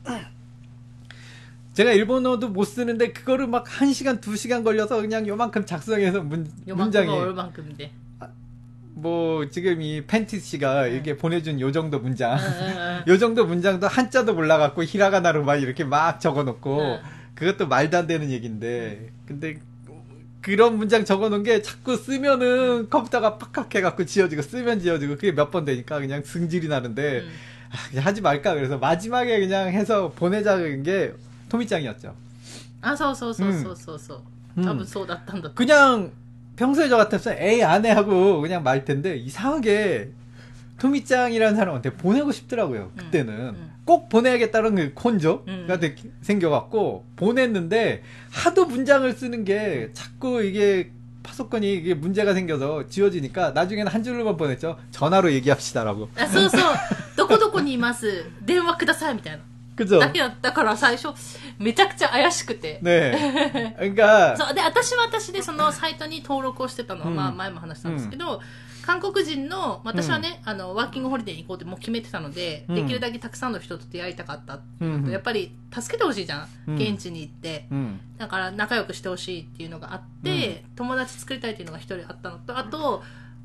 제가 일본어도 못 쓰는데 그거를 막 한 시간, 두 시간 걸려서 그냥 요만큼 작성해서 문, 문장이 얼만큼인데? 아, 뭐 지금 이 팬티 씨가 응. 이렇게 보내준 요 정도 문장, 응, 응, 요 정도 문장도 한자도 몰라갖고 히라가나로 막 이렇게 막 적어놓고 그것도 말도 안 되는 얘기인데 근데 그런 문장 적어놓은 게 자꾸 쓰면은 컴퓨터가 팍팍 해갖고 지워지고 쓰면 지워지고 그게 몇 번 되니까 그냥 승질이 나는데 아, 그냥 하지 말까 그래서 마지막에 그냥 해서 보내자는 게 토미짱이었죠. 아, そうそうそうそうそうそう。 多分そうだったんだ。 그냥 평소에 저 같았으면 에이 안 해 하고 그냥 말 텐데 이상하게 토미짱이라는 사람한테 보내고 싶더라고요. 그때는 음, 음. 꼭 보내야겠다는 그 콘조가 음. 생겨갖고 보냈는데 하도 문장을 쓰는 게 자꾸 이게 파소콘이 이게 문제가 생겨서 지워지니까 나중에는 한 줄로만 보냈죠. 전화로 얘기합시다라고. 아, そうそう。どこどこにいます。電話くださいみたいな。 그죠? だけだったから最初めちゃくちゃ怪しくて。 네. 그러니까 そうで私は私でそのサイトに登録をしてたのは、まあ前も話したんですけど、韓国人の私はね、あのワーキングホリデーに行こうってもう決めてたので、できるだけたくさんの人と出会いたかったっていうのと、やっぱり助けてほしいじゃん、現地に行って、だから仲良くしてほしいっていうのがあって、友達作りたいっていうのが一人あったのと、あと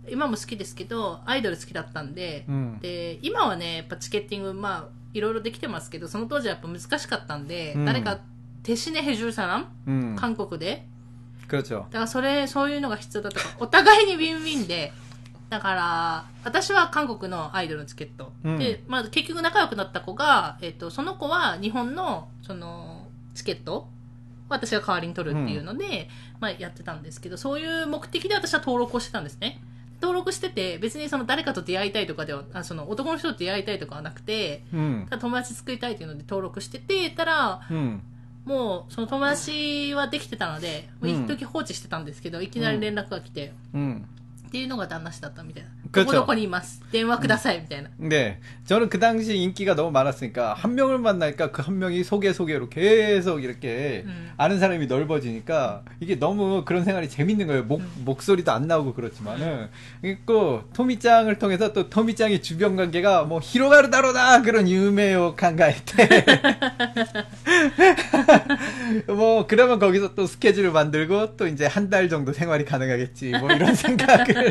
今も好きですけど、アイドル好きだったんで、 うん、 で、今はね、やっぱチケッティング、まあ、いろいろできてますけど、その当時はやっぱ難しかったんで、うん、誰か、テシネヘジューサラン、うん、韓国で。 그렇죠。 だからそれ、そういうのが必要だったから、お互いにウィンウィンで、だから、私は韓国のアイドルのチケット。うん、で、まあ結局仲良くなった子が、えっと、その子は日本の、その、チケット私が代わりに取るっていうので、うん、まあやってたんですけど、そういう目的で私は登録をしてたんですね。登録してて、別にその誰かと出会いたいとかでは、あその男の人と出会いたいとかはなくて、うん、友達作りたいというので登録してて、たら、うん、もうその友達はできてたので、うん、一時放置してたんですけど、いきなり連絡が来て、うん、っていうのが旦那氏だったみたいな。どこどこにいます。電話くださいみたいな。 네. 저는 그 당시 인기가 너무 많았으니까 한 명을 만나니까 그 한 명이 소개 소개로 계속 이렇게 음. 아는 사람이 넓어지니까 이게 너무 그런 생활이 재밌는 거예요. 목, 음. 목소리도 안 나오고 그렇지만은. 그리고 토미짱을 통해서 또 토미짱의 주변 관계가 뭐 히로가루 다로다 그런 유메요 칸가에테. 뭐 그러면 거기서 또 스케줄을 만들고 또 이제 한 달 정도 생활이 가능하겠지. 뭐 이런 생각을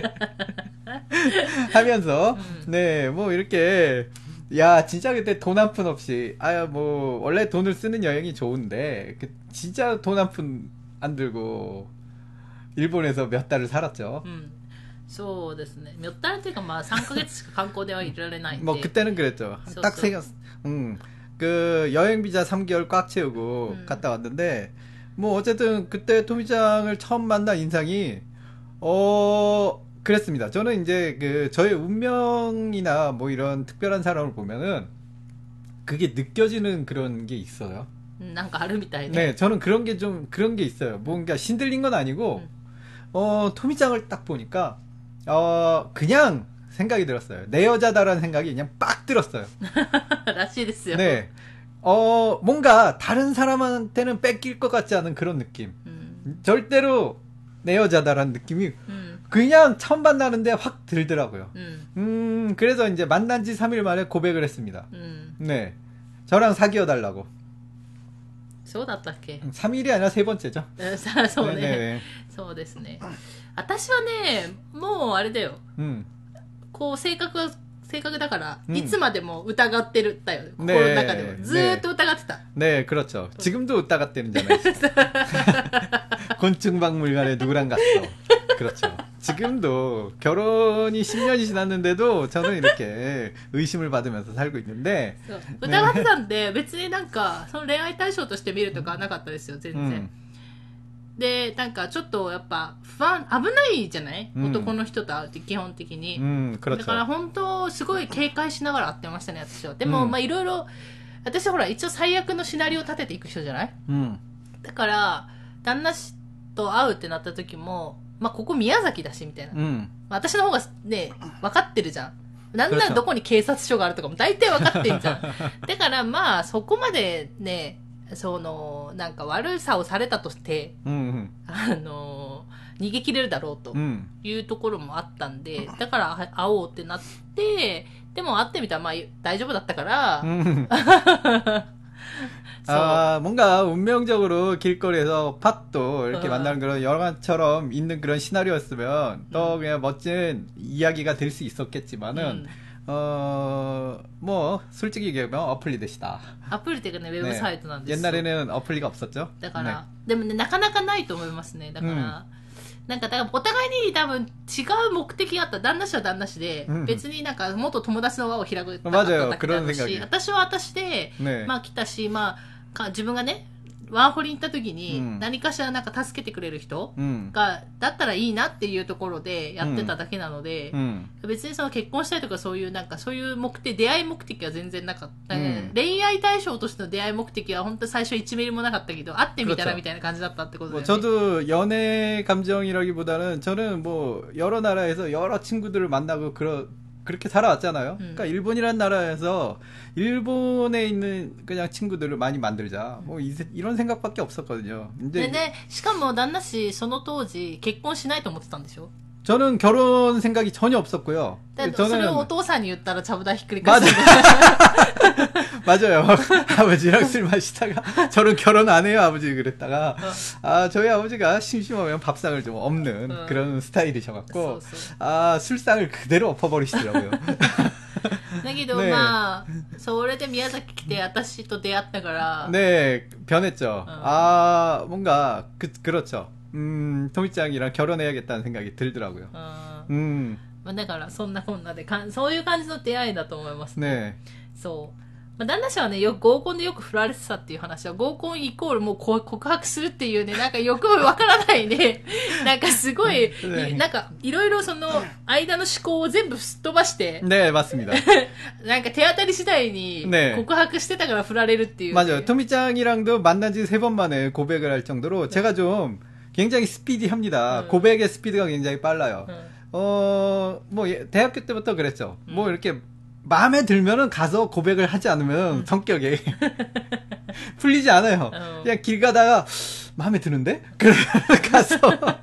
하면서 음. 네, 뭐 이렇게 야 진짜 그때 돈 한 푼 없이 아야 뭐 원래 돈을 쓰는 여행이 좋은데 그 진짜 돈 한 푼 안 들고 일본에서 몇 달을 살았죠. 음. そうですね。몇 달っていうかまあさんかげつしか観光ではいられないんで。 뭐 그때는 그랬죠. 딱 세 개. 음. 그 여행 비자 삼 개월 꽉 채우고 음. 갔다 왔는데 뭐 어쨌든 그때 토미짱을 처음 만난 인상이 어 그랬습니다. 저는 이제 그 저의 운명이나 뭐 이런 특별한 사람을 보면은 그게 느껴지는 그런 게 있어요. 뭔가 아르미타이네. 네, 저는 그런 게 좀 그런 게 있어요. 뭔가 신들린 건 아니고 음. 어 토미짱을 딱 보니까 어 그냥 생각이 들었어요. 내 여자다라는 생각이 그냥 빡 들었어요. 라시데스요. 네, 어 뭔가 다른 사람한테는 뺏길 것 같지 않은 그런 느낌. 음. 절대로 내 여자다라는 느낌이. 음. 그냥 처음 만나는데 확 들더라고요. 음. 음, 그래서 이제 만난 지 삼 일 만에 고백을 했습니다. 음. 네. 저랑 사귀어 달라고. そうだったっけ? 삼 일이 아니라 세 번째죠. そうね。そうですね。私はね、もうあれだよ。うん。こう性格が性格だから、いつまでも疑ってるだよ。心の中でもずーっと疑ってた。 네, 그렇죠. 지금도疑ってるんじゃないですか. 곤충박물관에 누구랑 갔어. 그렇죠. 지금도 결혼이 십 년이 지났는데도 저는 이렇게 의심을 받으면서 살고 있는데. 疑ってたんで、別になんかその恋愛対象として見るとかなかったですよ、全然。で、なんかちょっとやっぱ不安、危ないじゃない、うん、男の人と会うって基本的に、うん、だから本当すごい警戒しながら会ってましたね、私は。でも、うん、まあいろいろ、私ほら一応最悪のシナリオを立てていく人じゃない、うん、だから旦那氏と会うってなった時も、まあここ宮崎だしみたいな、うん、私の方がね分かってるじゃん。なんならどこに警察署があるとかも大体分かってんじゃん。だからまあそこまでね、そのなんか悪さをされたとして、うんうん、あの逃げ切れるだろうというところもあったんで、だから会おうってなって、でも会ってみたらまあ大丈夫だったから、うん、 아, 뭔가 운명적으로 길거리에서 팟도 이렇게 어. 만나는 그런 영화처럼 있는 그런 시나리오였으면 또 음. 그냥 멋진 이야기가 될 수 있었겠지만은 음. 어, 뭐, 솔직히 얘기하면 어플리듯이다. 어플리가 네, 웹 사이트なんです. 옛날에는 어플리가 없었죠? だから、でもね、なかなかないと思いますね。だから、なんか、だからお互いに多分違う目的があった。旦那氏は旦那氏で、別になんか元友達の輪を開くたかっただけだし、私は私で、まあ来たし、まあ、自分がね、ワーホリに行った時に何かしらなんか助けてくれる人が、だったらいいなっていうところでやってただけなので、別にその結婚したいとかそういうなんかそういう目的、出会い目的は全然なかった。恋愛対象としての出会い目的は本当最初いちミリもなかったけど、会ってみたらみたいな感じだったってことだよね。 저도 연애 감정이라기보다는 저는 뭐 여러 나라에서 여러 친구들을 만나고 그런 그렇게 살아왔잖아요. 음. 그러니까 일본이란 나라에서 일본에 있는 그냥 친구들을 많이 만들자. 뭐 이, 이런 생각밖에 없었거든요. 근데 네, しかも旦那氏その当時結婚しないと思ってたんでしょ? 저는 결혼 생각이 전혀 없었고요. 저는それをお父さんに言ったらちゃぶ台ひっくり 맞아. 맞아요. 아버지랑 술 마시다가 저는 결혼 안 해요 아버지 그랬다가 아 저희 아버지가 심심하면 밥상을 좀 없는 어. 그런 스타일이셔갖고 아 술상을 그대로 엎어버리시더라고요. だけど、 네. まあ、それで宮崎来て私と出会ったから 네, 변했죠. 어. 아, 뭔가 그, 그렇죠. 음, 토미짱이랑 결혼해야겠다는 생각이 들더라고요. 어. 음. まあ、だからそんなこんなでかんそういう感じの出会いだと思いますね。ね。そう。まあ、旦那氏はね、よく合コンでよく振られてたっていう話は、合コンイコールもう告白するっていうね、なんかよくわからないね、なんかすごい、ね、なんかいろいろその間の思考を全部すっ飛ばして、 ね、맞습니다. なんか手当たり次第に告白してたから振られるっていう、ね。 맞아요. 토미짱이랑도 만난 지 세 번 만에 고백을 할 정도로 제가 좀 굉장히 스피디합니다. 음. 고백의 스피드가 굉장히 빨라요. 음. 어, 뭐 대학교 때부터 그랬죠. 음. 뭐 이렇게 마음에 들면은 가서 고백을 하지 않으면 음. 성격이 풀리지 않아요. 어. 그냥 길 가다가 마음에 드는데? 그러면 가서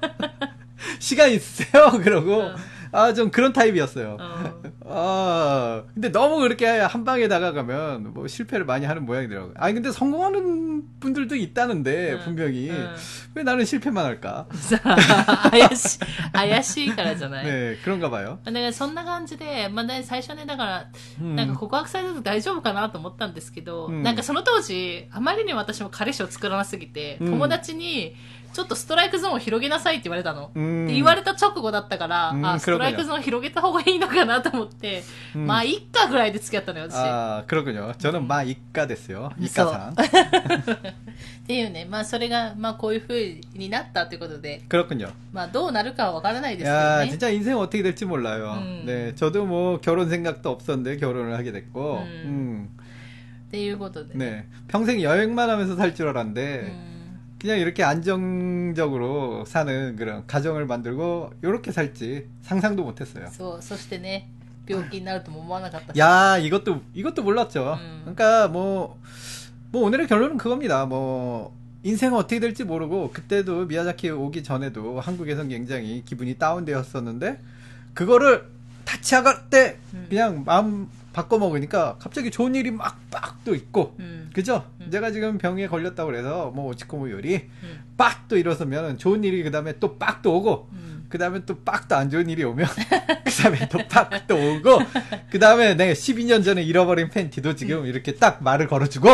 시간 있으세요? 그러고 어. 아, 좀 그런 타입이었어요. 어. 아, 근데 너무 그렇게 한 방에 다가가면 뭐 실패를 많이 하는 모양이더라고요. 아니, 근데 성공하는 분들도 있다는데, 응. 분명히. 응. 왜 나는 실패만 할까? 怪しい、怪しいからじゃない? 네, 그런가 봐요. だからそんな感じで、まあね、最初ね、だから、なんか告白されると大丈夫かなと思ったんですけど、うん、なんかその当時、あまりに私も彼氏を作らなすぎて、うん、友達に、ちょっとストライクゾーンを広げなさいって言われたの。って言われた直後だったから、あ、ストライクゾーンを広げた方がいいのかなと思って、まあ、いっかぐらいで付き合ったのよ、私。 あ、그렇군요。저는まあ、いっかですよ。いっかさん。 っていうね、まあ、それが、まあ、こういう風になったということで。 그렇군요。 まあ、どうなるかはわからないですけどね。 いや、진짜 인생 어떻게 될지 몰라요。ね、저도 뭐 결혼 생각도 없었는데 결혼을 하게 됐고。 っていうことで。 ね、평생 여행만 하면서 살 줄 알았는데。그냥 이렇게 안정적으로 사는 그런 가정을 만들고 이렇게 살지 상상도 못했어요. そう、そしてね、病気になるとも思わなかったし。 야, 이것도 이것도 몰랐죠. 음. 그러니까 뭐, 뭐 오늘의 결론은 그겁니다. 뭐 인생은 어떻게 될지 모르고 그때도 미야자키 오기 전에도 한국에선 굉장히 기분이 다운되었었는데 그거를 타치아갈 때 음. 그냥 마음 바꿔 먹으니까 갑자기 좋은 일이 막 빡 또 있고 음. 그죠? 음. 제가 지금 병에 걸렸다고 그래서 뭐 오치코모 요리 음. 빡 또 일어서면 좋은 일이 그 다음에 또 빡 또 오고 음. 그 다음에 또 빡 또 안 좋은 일이 오면 그 다음에 또 빡 또 오고 그 다음에 내가 십이 년 전에 잃어버린 팬티도 지금 음. 이렇게 딱 말을 걸어주고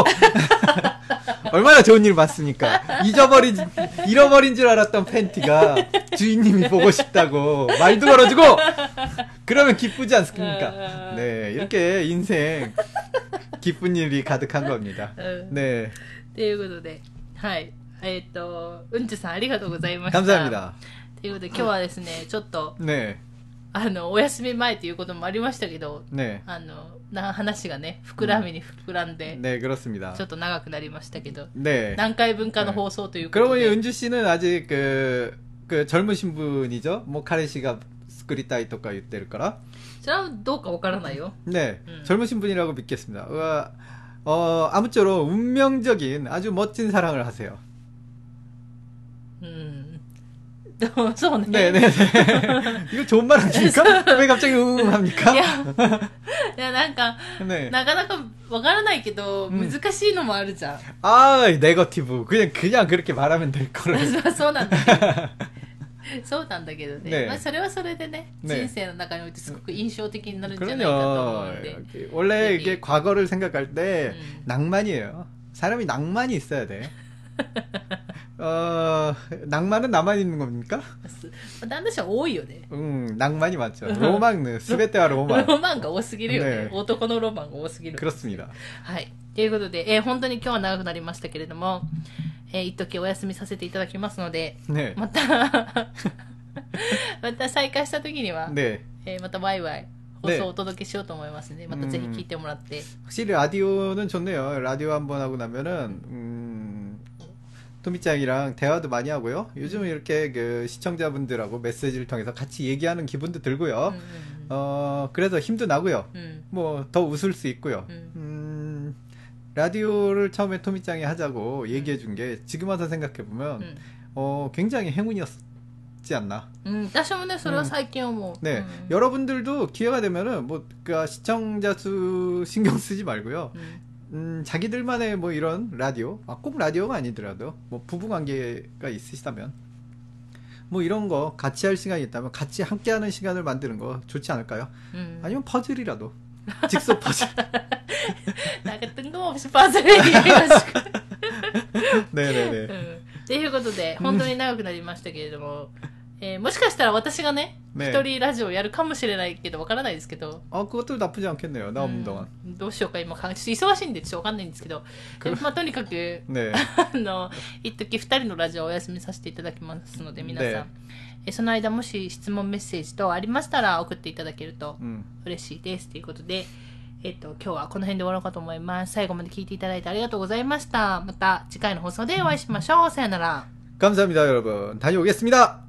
얼마나 좋은 일 많습니까? 잊어버린, 잃어버린 줄 알았던 팬티가 주인님이 보고 싶다고 말도 걸어주고 그러면 기쁘지 않습니까? 네, 이렇게 인생 기쁜 일이 가득한 겁니다. 네. ということで、はい。えっと、うんちさんありがとうございました。 감사합니다. ということで、今日はですね、ちょっと、 네. あの、お休み前ということもありましたけど、 네. あの、な話がね、膨らみに膨らんで、 네, 그렇습니다. ちょっと長くなりましたけど、 네. 何回分かの放送ということで。 그러고 보니 은주 씨는 아직 그, 그 젊으신 분이죠? 뭐 카레 씨가 스크리타이とか言ってるから. それはどうかわからないよ. 네, 음. 젊으신 분이라고 믿겠습니다. 어, 어, 아무쪼록 운명적인 아주 멋진 사랑을 하세요. 음. そうね。 네네네. 이거 좋은 말 아닙니까? 왜 갑자기 음 합니까? いや、いやなんか、네. なかなかわからないけど、難しいのもあるじゃん。 아, 네거티브. 그냥, 그냥 그렇게 말하면 될 거를. そうなんだけど。そうなんだけどね。 네. まあそれはそれでね、 네. 人生の中においてすごく印象的になるんじゃないかと思うんで。 원래 이게 과거를 생각할 때 음. 낭만이에요. 사람이 낭만이 있어야 돼. 어, 낭만은 나만 있는 겁니까? 旦那氏は多いよね。 음, 낭만이 많죠. 로망, 스베테와 로망. ロマンが多すぎるよね。 네. 男のロマンが多すぎる。 그렇습니다. はい。ということで、えー、本当に今日は長くなりましたけれども、えー、一時お休みさせていただきますので、 네. また、また再開した時には、 네. えー、またワイワイ。 放送をお届けしようと思いますので、 またぜひ聞いてもらって。 확실히 라디오는 좋네요. 라디오 한번 하고 나면은, 음, 토미짱이랑 대화도 많이 하고요. 요즘은 이렇게 그 시청자분들하고 메시지를 통해서 같이 얘기하는 기분도 들고요. 음, 음. 어, 그래서 힘도 나고요. 음. 뭐, 더 웃을 수 있고요. 음. 음, 라디오를 처음에 토미짱이 하자고 얘기해 준 게 지금 와서 생각해 보면, 음. 어, 굉장히 행운이었지 있지 않나. 음,私もね、それは最近思う. 네, 음. 여러분들도 기회가 되면은 뭐 그러니까 시청자 수 신경 쓰지 말고요. 음. 음, 자기들만의 뭐 이런 라디오, 아, 꼭 라디오가 아니더라도 뭐 부부 관계가 있으시다면 뭐 이런 거 같이 할 시간이 있다면 같이 함께하는 시간을 만드는 거 좋지 않을까요? 음. 아니면 퍼즐이라도 직접 퍼즐. なんか뜬금없이 퍼즐 얘기해가지고. 네네네. うんということで、本当に長くなりましたけれども、えー、もしかしたら私がね、 ね一人ラジオやるかもしれないけど、わからないですけど。 아, 그것도 나쁘지 않겠네요. 나 없는 동안. うんどうしようか今考え、ちょっと忙しいんでちょっとわかんないんですけど、まあとにかく、 네. あの、一時二人のラジオをお休みさせていただきますので、皆さん、 ねえその間もし質問メッセージ等ありましたら送っていただけると 음. 嬉しいですということで、えっと、今日はこの辺で終わろうかと思います。最後まで聞いていただいてありがとうございました。また次回の放送でお会いしましょう。さよなら。 감사합니다, 여러분. 다녀오겠습니다.